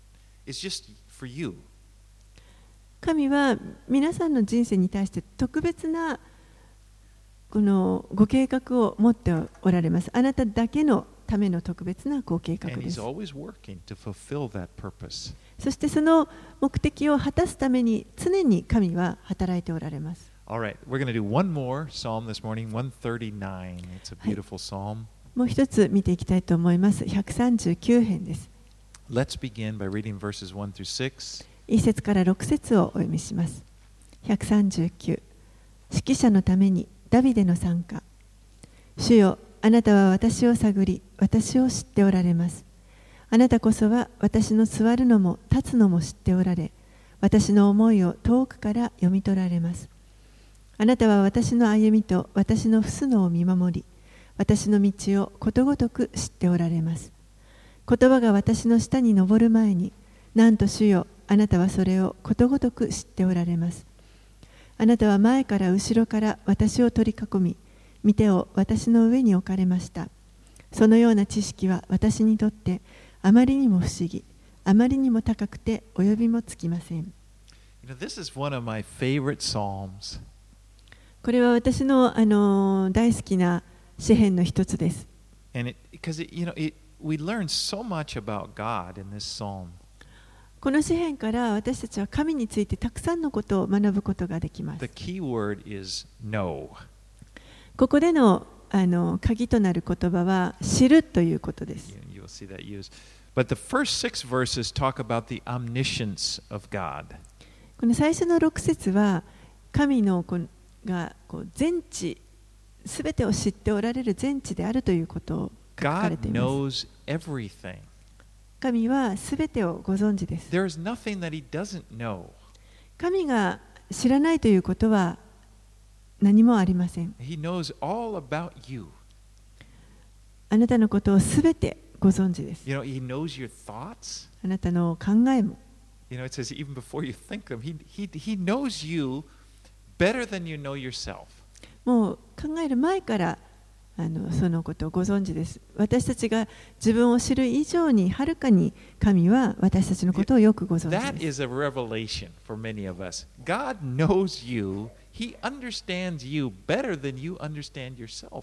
S1: is just for you.
S2: 神は皆さんの人生に対して特別なこのご計画を持っておられます。あなただけのための特別なご計画
S1: And
S2: で
S1: he's
S2: す。
S1: always working to fulfill that purpose.
S2: そしてその目的を果たすために常に神は働いておられます。
S1: All right, we're going to do one more psalm this morning, one thirty-nine. It's a beautiful psalm.
S2: もう一つ見ていきたいと思います。ひゃくさんじゅうきゅう編です。
S1: Let's begin by reading verses one through six.
S2: いち節からろく節をお読みします。ひゃくさんじゅうきゅう、指揮者のためにダビデの賛歌。主よ、あなたは私を探り、私を知っておられます。あなたこそは私の座るのも立つのも知っておられ、私の思いを遠くから読み取られます。あなたは私の歩みと私の伏すのを見守り、私の道をことごとく知っておられます。言葉が私の下に上る前に、なんと主よ、あなたはそれをことごとく知っておられます。あなたは前から後ろから私を取り囲み、御手を私の上に置かれました。そのような知識は私にとってあまりにも不思議、あまりにも高くて及びもつきません。
S1: You know, this is one of my favorite psalms.
S2: これは私の、あの大好きな詩篇の一つです。
S1: And it, because it, you know, it, we learn so much about God in this psalm.
S2: この詩篇から私たちは神についてたくさんのことを学ぶことができます。
S1: The key word is know.
S2: ここでの、あの鍵となる言葉は知るということです。
S1: You, you'll see that used. But the first six verses talk about the omniscience of God.
S2: この最初のろく節は神のこがこう全知、すべてを知っておられる全知であるということを書かれ
S1: God
S2: ています。
S1: knows everything.
S2: 神はすべてをご存知です。
S1: There is nothing that He doesn't know.
S2: 神が知らないということは何もありません。
S1: He knows all about you.
S2: あなたのことをすべてご存知です。
S1: You know, He knows your thoughts.
S2: あなたの考えも。
S1: You know, it says even before you think them, He, he, he knows you better than you know yourself.
S2: もう考える前からあのそのことをご存知です。私たちが自分を知る以上にはるかに神は私たちのことをよくご存知
S1: That
S2: です。
S1: is a revelation for many of us. God knows you. He understands you better than you understand yourself.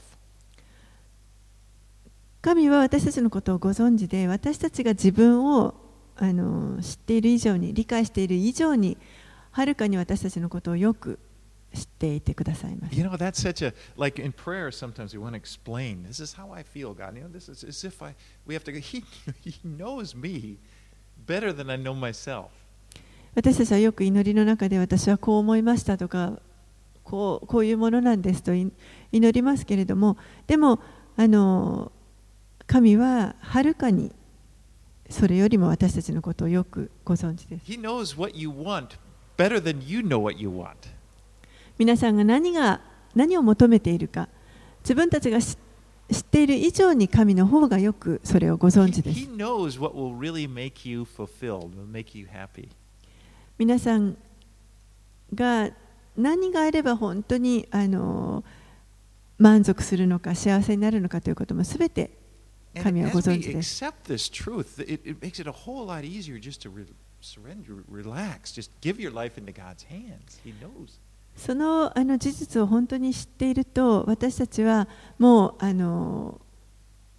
S2: 神は私たちのことをご存知で、私たちが自分をあの知っている以上に、理解している以上に、はるかに私たちのことをよく知っていてくださいます。
S1: You know, that's such a, like in prayer, sometimes we want to explain, this is how I feel, God. You know, this is as if I, we have to go, He, he knows me better than I know myself.
S2: 私たちはよく祈りの中で私はこう思いましたとか、こう、こういうものなんですと祈りますけれども、でも、あの、神ははるかにそれよりも私たちのことをよくご存知です。
S1: He knows what you want better than you know what you want.
S2: 皆さんが何が何を求めているか、自分たちが知っている以上に神の方がよくそれをご存知で
S1: He,
S2: す。
S1: he knows what will really make you fulfilled, will make you happy.
S2: 皆さんが何があれば本当にあの満足するのか幸せになるのかということもすべて
S1: And
S2: 神はご
S1: as
S2: 存
S1: we
S2: 知です。
S1: accept this truth, it, it makes it a whole lot easier just to re- surrender, relax, just give your life into God's hands. He knows.
S2: そのあの事実を本当に知っていると、私たちはもうあの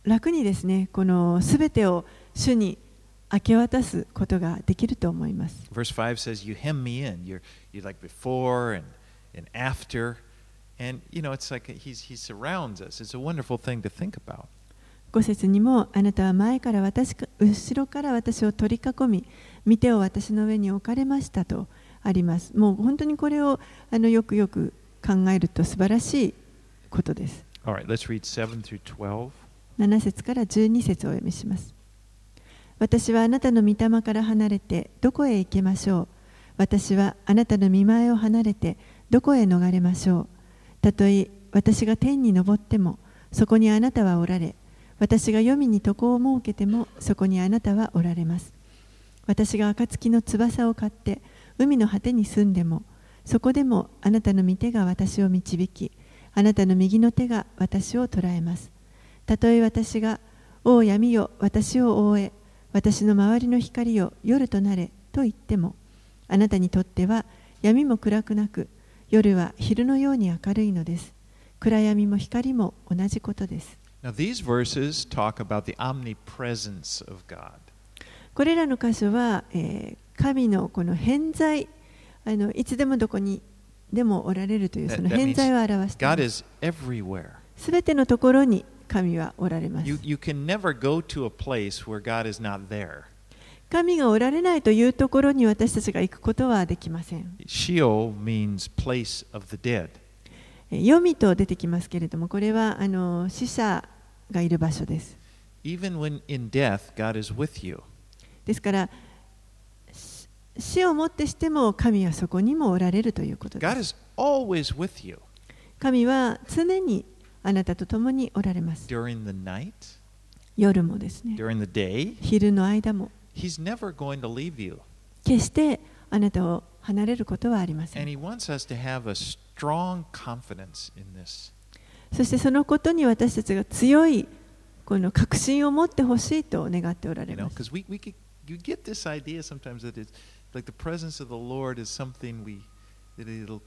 S2: 楽にですね、このすべてを主に明け渡すことができると思います。
S1: Verse five says, You hem me in. You're, you're like before and, and after. And, you know, it's like he's, he surrounds us. It's a wonderful thing to think about.
S2: ご節にも、あなたは前から私か、後ろから私を取り囲み、御手を私の上に置かれましたとあります。もう本当にこれをあのよくよく考えると素晴らしいことです。
S1: All right, let's read seven through twelve.
S2: なな節からじゅうに節をお読みします。私はあなたの御霊から離れてどこへ行けましょう。私はあなたの御前を離れてどこへ逃れましょう。たとえ私が天に昇ってもそこにあなたはおられ、私が黄泉に床を設けてもそこにあなたはおられます。私が暁の翼を買って海の果てに住んでもそこでもあなたの御手が私を導き、あなたの右の手が私を捉えます。たとえ私がおう闇よ私を覆え、私の周りの光よ夜となれと言っても、あなたにとっては闇も暗くなく、夜は昼のように明るいのです。暗闇も光も同じことです。
S1: Now, these verses talk about the omnipresence of God.
S2: これらの箇所は、えー、神のこの偏在、あのいつでもどこにでもおられるというその偏在を表しています。すべてのところに神はおられます。
S1: You, you can never go to a place where God is not there.
S2: 神がおられないというところに私たちが行くことはできません。
S1: Sheol means place of the dead.
S2: 黄泉と出てきますけれども、これはあの死者がいる場所です。
S1: Even when in death, God is with you.
S2: ですから死をもってしても神はそこにもおられるということです。
S1: God is always with you.
S2: 神は常にあなたと共におられます。
S1: During the night,
S2: 夜もですね。
S1: during the day,
S2: 昼の間も。
S1: He's never going to leave you.
S2: 決してあなたを離れることはありません。
S1: And He wants us to have a strong confidence in this.
S2: そしてそのことに私たちが強いこの確信を持ってほしいと願っておられ
S1: You know,
S2: ます。
S1: because we, we get, you get this idea sometimes that it's like the presence of the Lord is something we, that it'll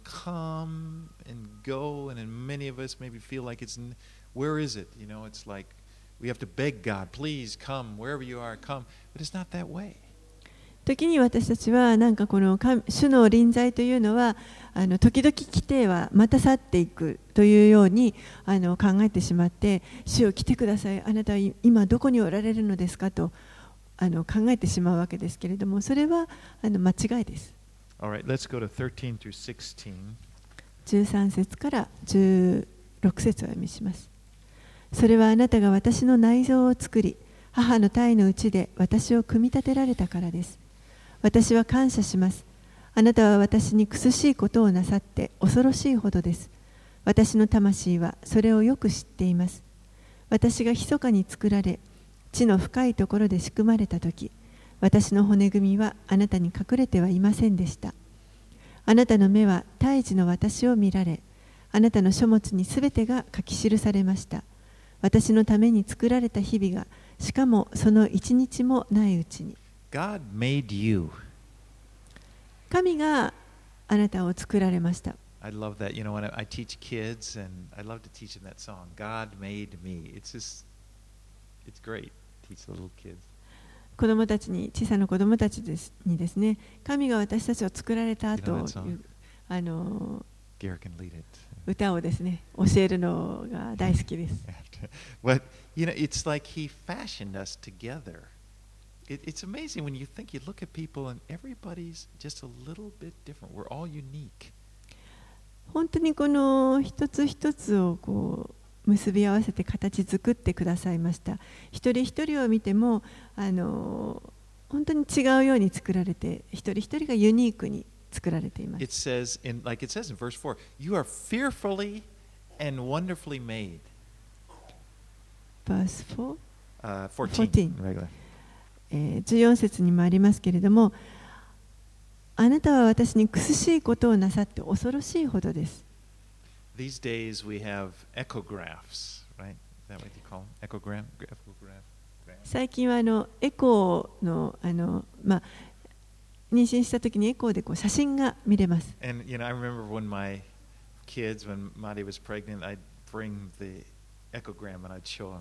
S1: come and go, and then many of us maybe feel like it's, where is it? You know, it's like we have to beg God, please come, wherever you are, come. But it's not that way.
S2: 時に私たちはなんかこの主の臨在というのはあの時々来てはまた去っていくというようにあの考えてしまって、主よ来てください、あなたは今どこにおられるのですかとあの考えてしまうわけですけれども、それはあの間違いです。
S1: All right, let's go to thirteen through sixteen.
S2: じゅうさん節からじゅうろく節を読みします。それはあなたが私の内臓を作り、母の胎のうちで私を組み立てられたからです。私は感謝します。あなたは私に苦しいことをなさって恐ろしいほどです。私の魂はそれをよく知っています。私が密かに作られ、地の深いところで仕組まれたとき、私の骨組みはあなたに隠れてはいませんでした。あなたの目は胎児の私を見られ、あなたの書物にすべてが書き記されました。私のために作られた日々が、しかもその一日もないうちに。
S1: God made you.
S2: 神があなたを作られました。
S1: I love that. You know, when I, I teach kids, and I love to teach them that song, God made me. It's just, it's great. Teach the little kids.
S2: 子供たちに、小さな子供たちですにですね、神が私たちを作られたという、あの、歌をですね、教えるのが大好きです。
S1: But, you know, it's like He fashioned us together. It, it's amazing when you think, you look at people and everybody's just a little bit different. We're all unique.
S2: 本当にこの一つ一つをこう結び合わせて形作ってくださいました。一人一人を見てもあの本当に違うように作られて、一人一人がユニークに作られています。
S1: It says in, like it says in verse four, you are fearfully and wonderfully made.
S2: Verse four?
S1: Uh, fourteen. Regular.
S2: えー、じゅうよん節にもありますけれども、あなたは私に苦しいことをなさって恐ろしいほどです。
S1: These days we have echographs, right? Is that what you call them? Echogram? Echograph?
S2: 最近はあのエコーのあのまあ妊娠した時にエコーでこう写真が見れます。
S1: And you know, I remember when my kids, when Maddie was pregnant, I'd bring the echogram and I'd show them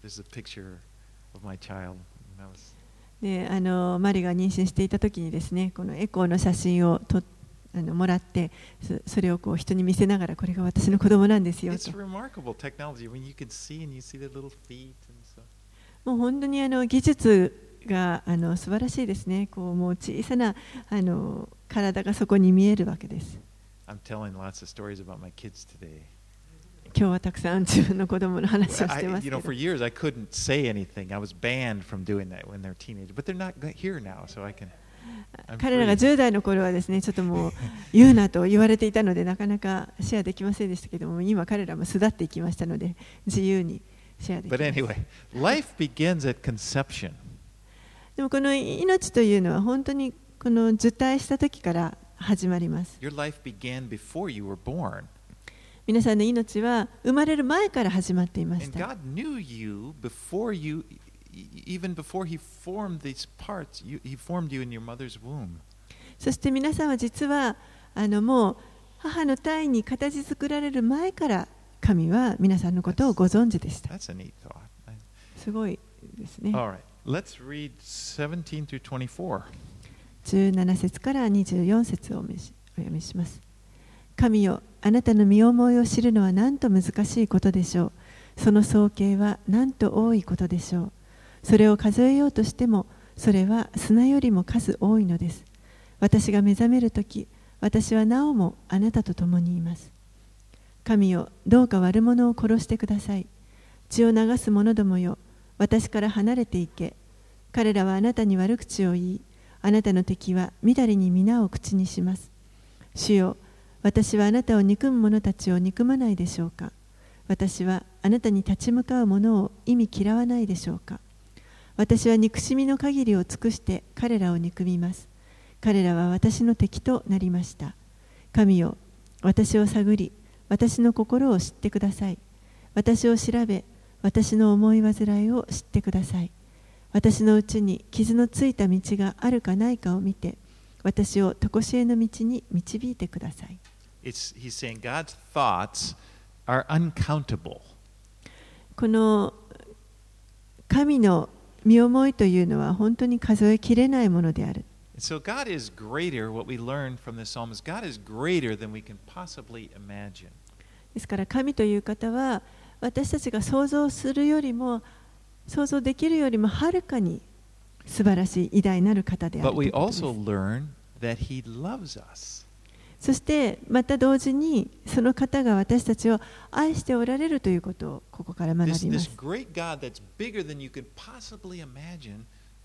S1: This is a picture of my child. That was...
S2: であのマリが妊娠していた時にですね、このエコーの写真をとあのもらって、そ, それをこう人に見せながら、これが私の子供なんですよと。
S1: It's remarkable technology when you can see and you see the little feet and stuff.
S2: もう本当にあの技術があの素晴らしいですね。こうもう小さなあの体がそこに見えるわけです。
S1: I'm telling lots of stories about my kids today.
S2: 今日はたくさん自分の子供の話をしてま
S1: I,
S2: す
S1: you
S2: け
S1: know,
S2: ど。
S1: for years I couldn't say anything. I was banned from doing that when they're teenagers, but they're not here now, so I can. I'm
S2: 彼らが
S1: free.
S2: じゅう代の頃はですね、ちょっともう言うなと言われていたので、なかなかシェアできませんでしたけども、今彼らも巣立っていきましたので、自由にシェアできます。
S1: But anyway, life begins at conception.
S2: でもこの命というのは本当にこの受胎した時から始まります。
S1: Your life began before you were born.
S2: 皆さんの命は生まれる前から始まっていまし
S1: And
S2: た。
S1: God knew you before you, even before He formed these parts. You, he formed you in your mother's womb.
S2: そして皆さんは実はあのもう母の胎に形作られる前から神は皆さんのことをご存知でした。
S1: That's a neat thought.
S2: すごいですね。
S1: All right, let's read seventeen through twenty-four.
S2: じゅうなな節からにじゅうよん節をお読みします。神よ、あなたの身思いを知るのはなんと難しいことでしょう。その総計はなんと多いことでしょう。それを数えようとしても、それは砂よりも数多いのです。私が目覚めるとき、私はなおもあなたと共にいます。神よ、どうか悪者を殺してください。血を流す者どもよ、私から離れていけ。彼らはあなたに悪口を言い、あなたの敵はみだりに皆を口にします。主よ、私はあなたを憎む者たちを憎まないでしょうか。私はあなたに立ち向かう者を意味嫌わないでしょうか。私は憎しみの限りを尽くして彼らを憎みます。彼らは私の敵となりました。神よ、私を探り、私の心を知ってください。私を調べ、私の思い煩いを知ってください。私のうちに傷のついた道があるかないかを見て、私を常しえの道に導いてください。
S1: It's, he's saying God's thoughts are uncountable.
S2: この神の身思いというのは本当に数えきれないものである。
S1: So God is greater, what we learn from this psalm is God is greater than we can possibly imagine.
S2: ですから神という方は私たちが想像するよりも想像できるよりもはるかに素晴らしい偉大なる方である
S1: But
S2: とい
S1: we
S2: うことです。
S1: also learn that He loves us.
S2: そしてまた同時にその方が私たちを愛しておられるということをここから学
S1: This,
S2: びま
S1: this
S2: す。
S1: great God that's bigger than you can possibly imagine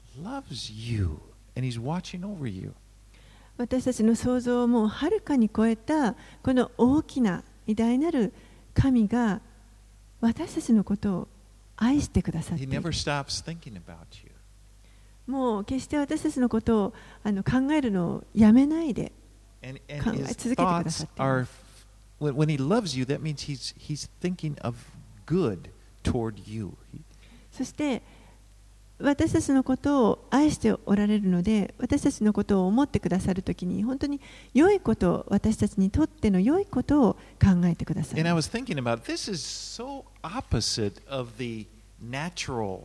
S1: loves you, and He's watching over you.
S2: 私たちの想像をもうはるかに超えたこの大きな偉大なる神が私たちのことを愛してくださって
S1: He
S2: いる。
S1: never stops thinking about you.
S2: もう決して私たちのことをあの考えるのをやめないで
S1: And, and
S2: 考え
S1: His
S2: 続けてくだ
S1: thoughts
S2: さっていま
S1: are,
S2: す。
S1: when, when He loves you, that means He's, he's thinking of good toward you. He,
S2: そして私たちのことを愛しておられるので、私たちのことを思ってくださるときに本当に良いこと、私たちにとっての良いことを考えてください。
S1: And I was thinking about this is so opposite of the natural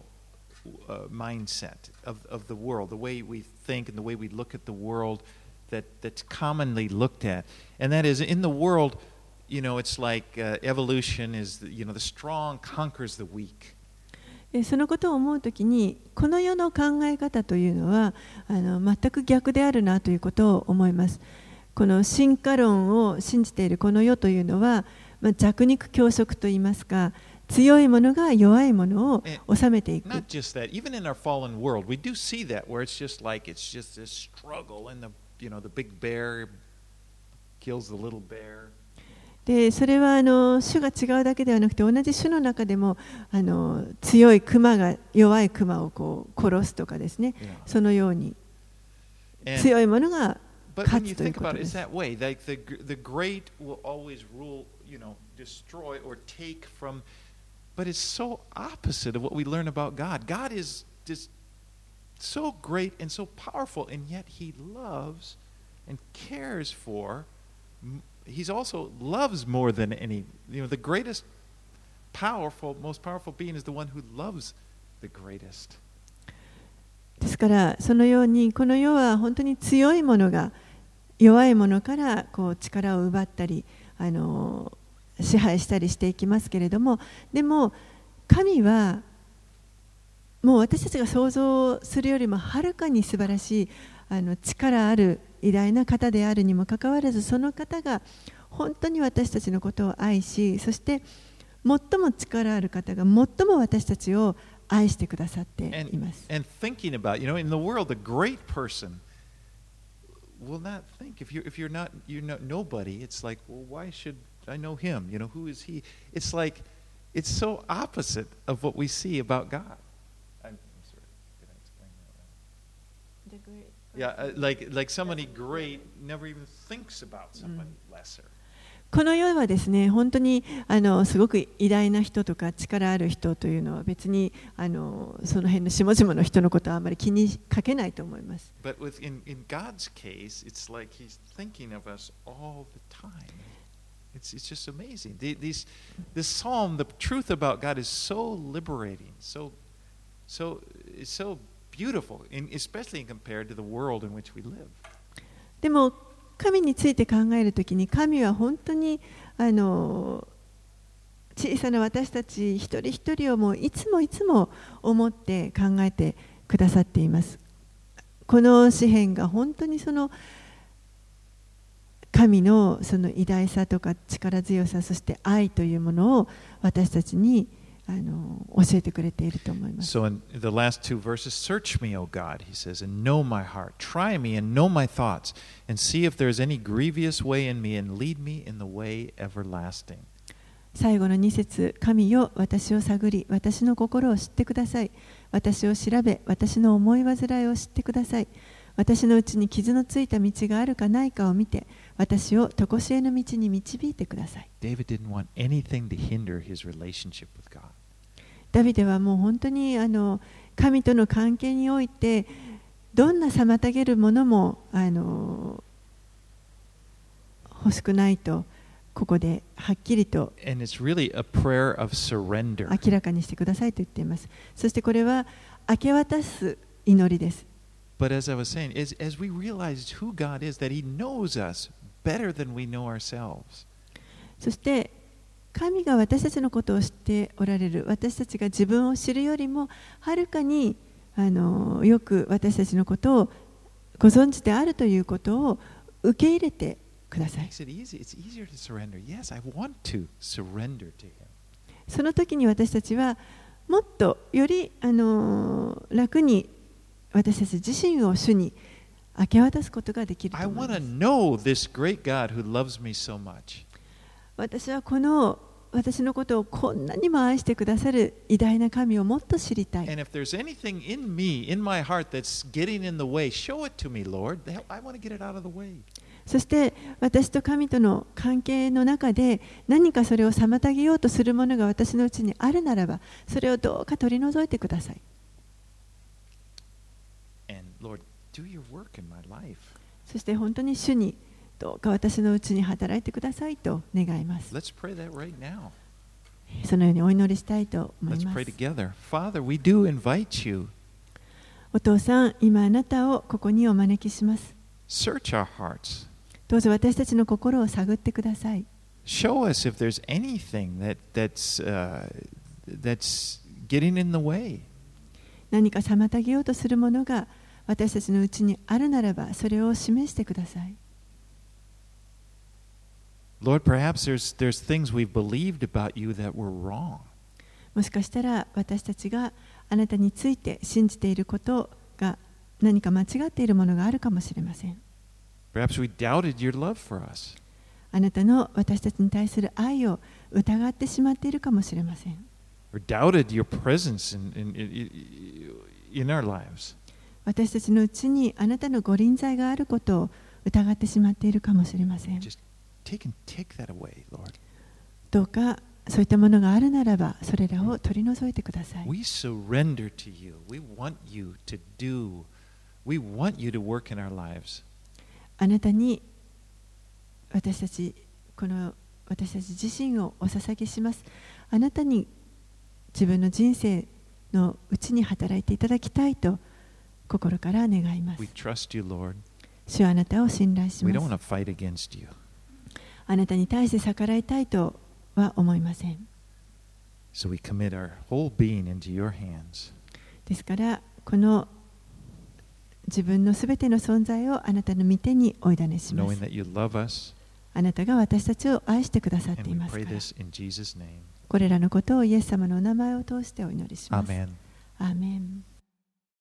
S1: uh, mindset of, of the world, the way we think and the way we look at the world that, that's commonly looked at. And that is in the world, you know, it's like uh, evolution is, you know, the strong conquers the weak.
S2: そのことを思うときに、この世の考え方というのはあの全く逆であるなということを思います。この進化論を信じているこの世というのは、まあ、弱肉強食といいますか、強いものが弱いものを治めていく。
S1: Not just that, even in our fallen world, we do see that where it's just like it's just this struggle, and the you know the big bear kills the little bear.
S2: でそれはあの種が違うだけではなくて、同じ種の中でもあの強いクマが弱いクマをこう殺すとかですね、
S1: Yeah.
S2: そのように
S1: And,
S2: 強いものが
S1: but
S2: 勝
S1: when you
S2: つという
S1: think
S2: こ
S1: about
S2: と
S1: it,
S2: で
S1: it's
S2: す。
S1: that way. Like the the great will always rule, you know, destroy or take from. But it's so opposite of what we learn about God. God is just so great and so powerful, and yet He loves and cares for. He's also loves more than any, you know, the greatest powerful, most powerful being is the one who loves the greatest.
S2: ですからそのようにこの世は本当に強いものが弱いものからこう力を奪ったりあの支配したりしていきますけれども、でも神はもう私たちが想像するよりもはるかに素晴らしいあの力ある偉大な方であるにもかかわらず、その方が本当に私たちのことを愛し、そして最も力ある方が最も私たちを愛してくださっています。
S1: And, and thinking about, you know, in the world, a great person will not think if you're if you're not you're not nobody. It's like, well, why should I know him? You know, who is he? It's like it's so opposite of what we see about God. I'm, I'm sorry, did I explain that right?
S2: The great
S1: Yeah, uh, like like somebody great never even thinks about somebody lesser.
S2: この世はですね、本当にあのすごく偉大な人とか力ある人というのは別にあのその辺の下々の人のことはあまり気にかけないと思います。
S1: But with, in, in God's case, it's like He's thinking of us all the time. It's, it's just amazing. The, these, this psalm, the truth about God is so liberating, so, so, it's so beautiful, in, especially compared to the world in which we live.
S2: でも神について考えるときに、神は本当にあの小さな私たち一人一人をもういつもいつも思って考えてくださっています。この詩篇が本当にその神のその偉大さとか力強さ、そして愛というものを私たちにあの教えてくれていると思います。
S1: So in the last two verses, search me, O God, he says, and know my heart. Try me and know my thoughts, and see if there is any grievous way in me, and lead me in the way everlasting.
S2: 最後のに節、神よ、私を探り、私の心を知ってください。私を調べ、私の思い煩いを知ってください。私のうちに傷のついた道があるかないかを見て、私を常しえの道に導いてください。
S1: David didn't want anything to hinder his relationship with God.
S2: ダビデはもう本当にあの神との関係においてどんな妨げるものもあの欲しくないとここではっきりと
S1: And it's really a prayer of surrender.
S2: 明らかにしてくださいと言っています。そしてこれは明け渡す祈りです。
S1: But as I was saying, as, as we realize who God is, that He knows us better than we know ourselves.
S2: そして神が私たちのことを知っておられる、私たちが自分を知るよりもはるかにあのよく私たちのことをご存知であるということを受け入れてください。その時に私たちはもっとよりあの楽に私たち自身を主に明け渡すことができると思います。私はこの私のことをこんなにも愛してくださる偉大な神をもっと知りたい。そして私と神との関係の中で何かそれを妨げようとするものが私のうちにあるならば、それをどうか取り除いてください。そして本当に主にどうか私のうちに働いてくださいと願います。
S1: Let's pray that right now.
S2: そのようにお祈りしたいと思い
S1: Let's
S2: ま
S1: pray
S2: す。
S1: together. Father, we do invite you.
S2: お父さん、今あなたをここにお招きします。
S1: Search our hearts.
S2: どうぞ私たちの心を探ってください。
S1: Show us if there's anything that, that's, uh, that's getting in the way.
S2: 何か妨げようとするものが私たちのうちにあるならば、それを示してください。
S1: Lord, perhaps there's, there's things we've believed about you that were wrong.
S2: もしかしたら私たちがあなたについて信じていることが何か間違っているものがあるかもしれません。
S1: Perhaps we doubted your love for us.
S2: あなたの私たちに対する愛を疑ってしまっているかもしれません。
S1: Or doubted your presence in, in, in, in our lives.
S2: 私たちのうちにあなたのご臨在があることを疑ってしまっているかもしれません。
S1: Just take and take that away, Lord.
S2: どうかそういったものがあるならば、それらを取り除いてください。
S1: We surrender to you. We want you to do. We want you to work in our lives.
S2: あなたに私たちこの私たち自身をお捧げします。あなたに自分の人生のうちに働いていただきたいと心から願います。
S1: We trust you, Lord.
S2: 主はあなたを信頼し
S1: We
S2: ま
S1: don't want
S2: す。
S1: to fight against you.
S2: あなたに対して逆らいたいとは思いません。
S1: So we commit our whole being into your hands.
S2: ですからこの自分のすべての存在をあなたの御手にお委ねしま
S1: Knowing
S2: す。
S1: that you love us.
S2: あなたが私たちを愛してくださって
S1: And
S2: い
S1: we
S2: ますか
S1: pray
S2: ら。
S1: this in Jesus' name.
S2: これらのことをイエス様のお名前を通してお祈りします。
S1: Amen.
S2: アーメン。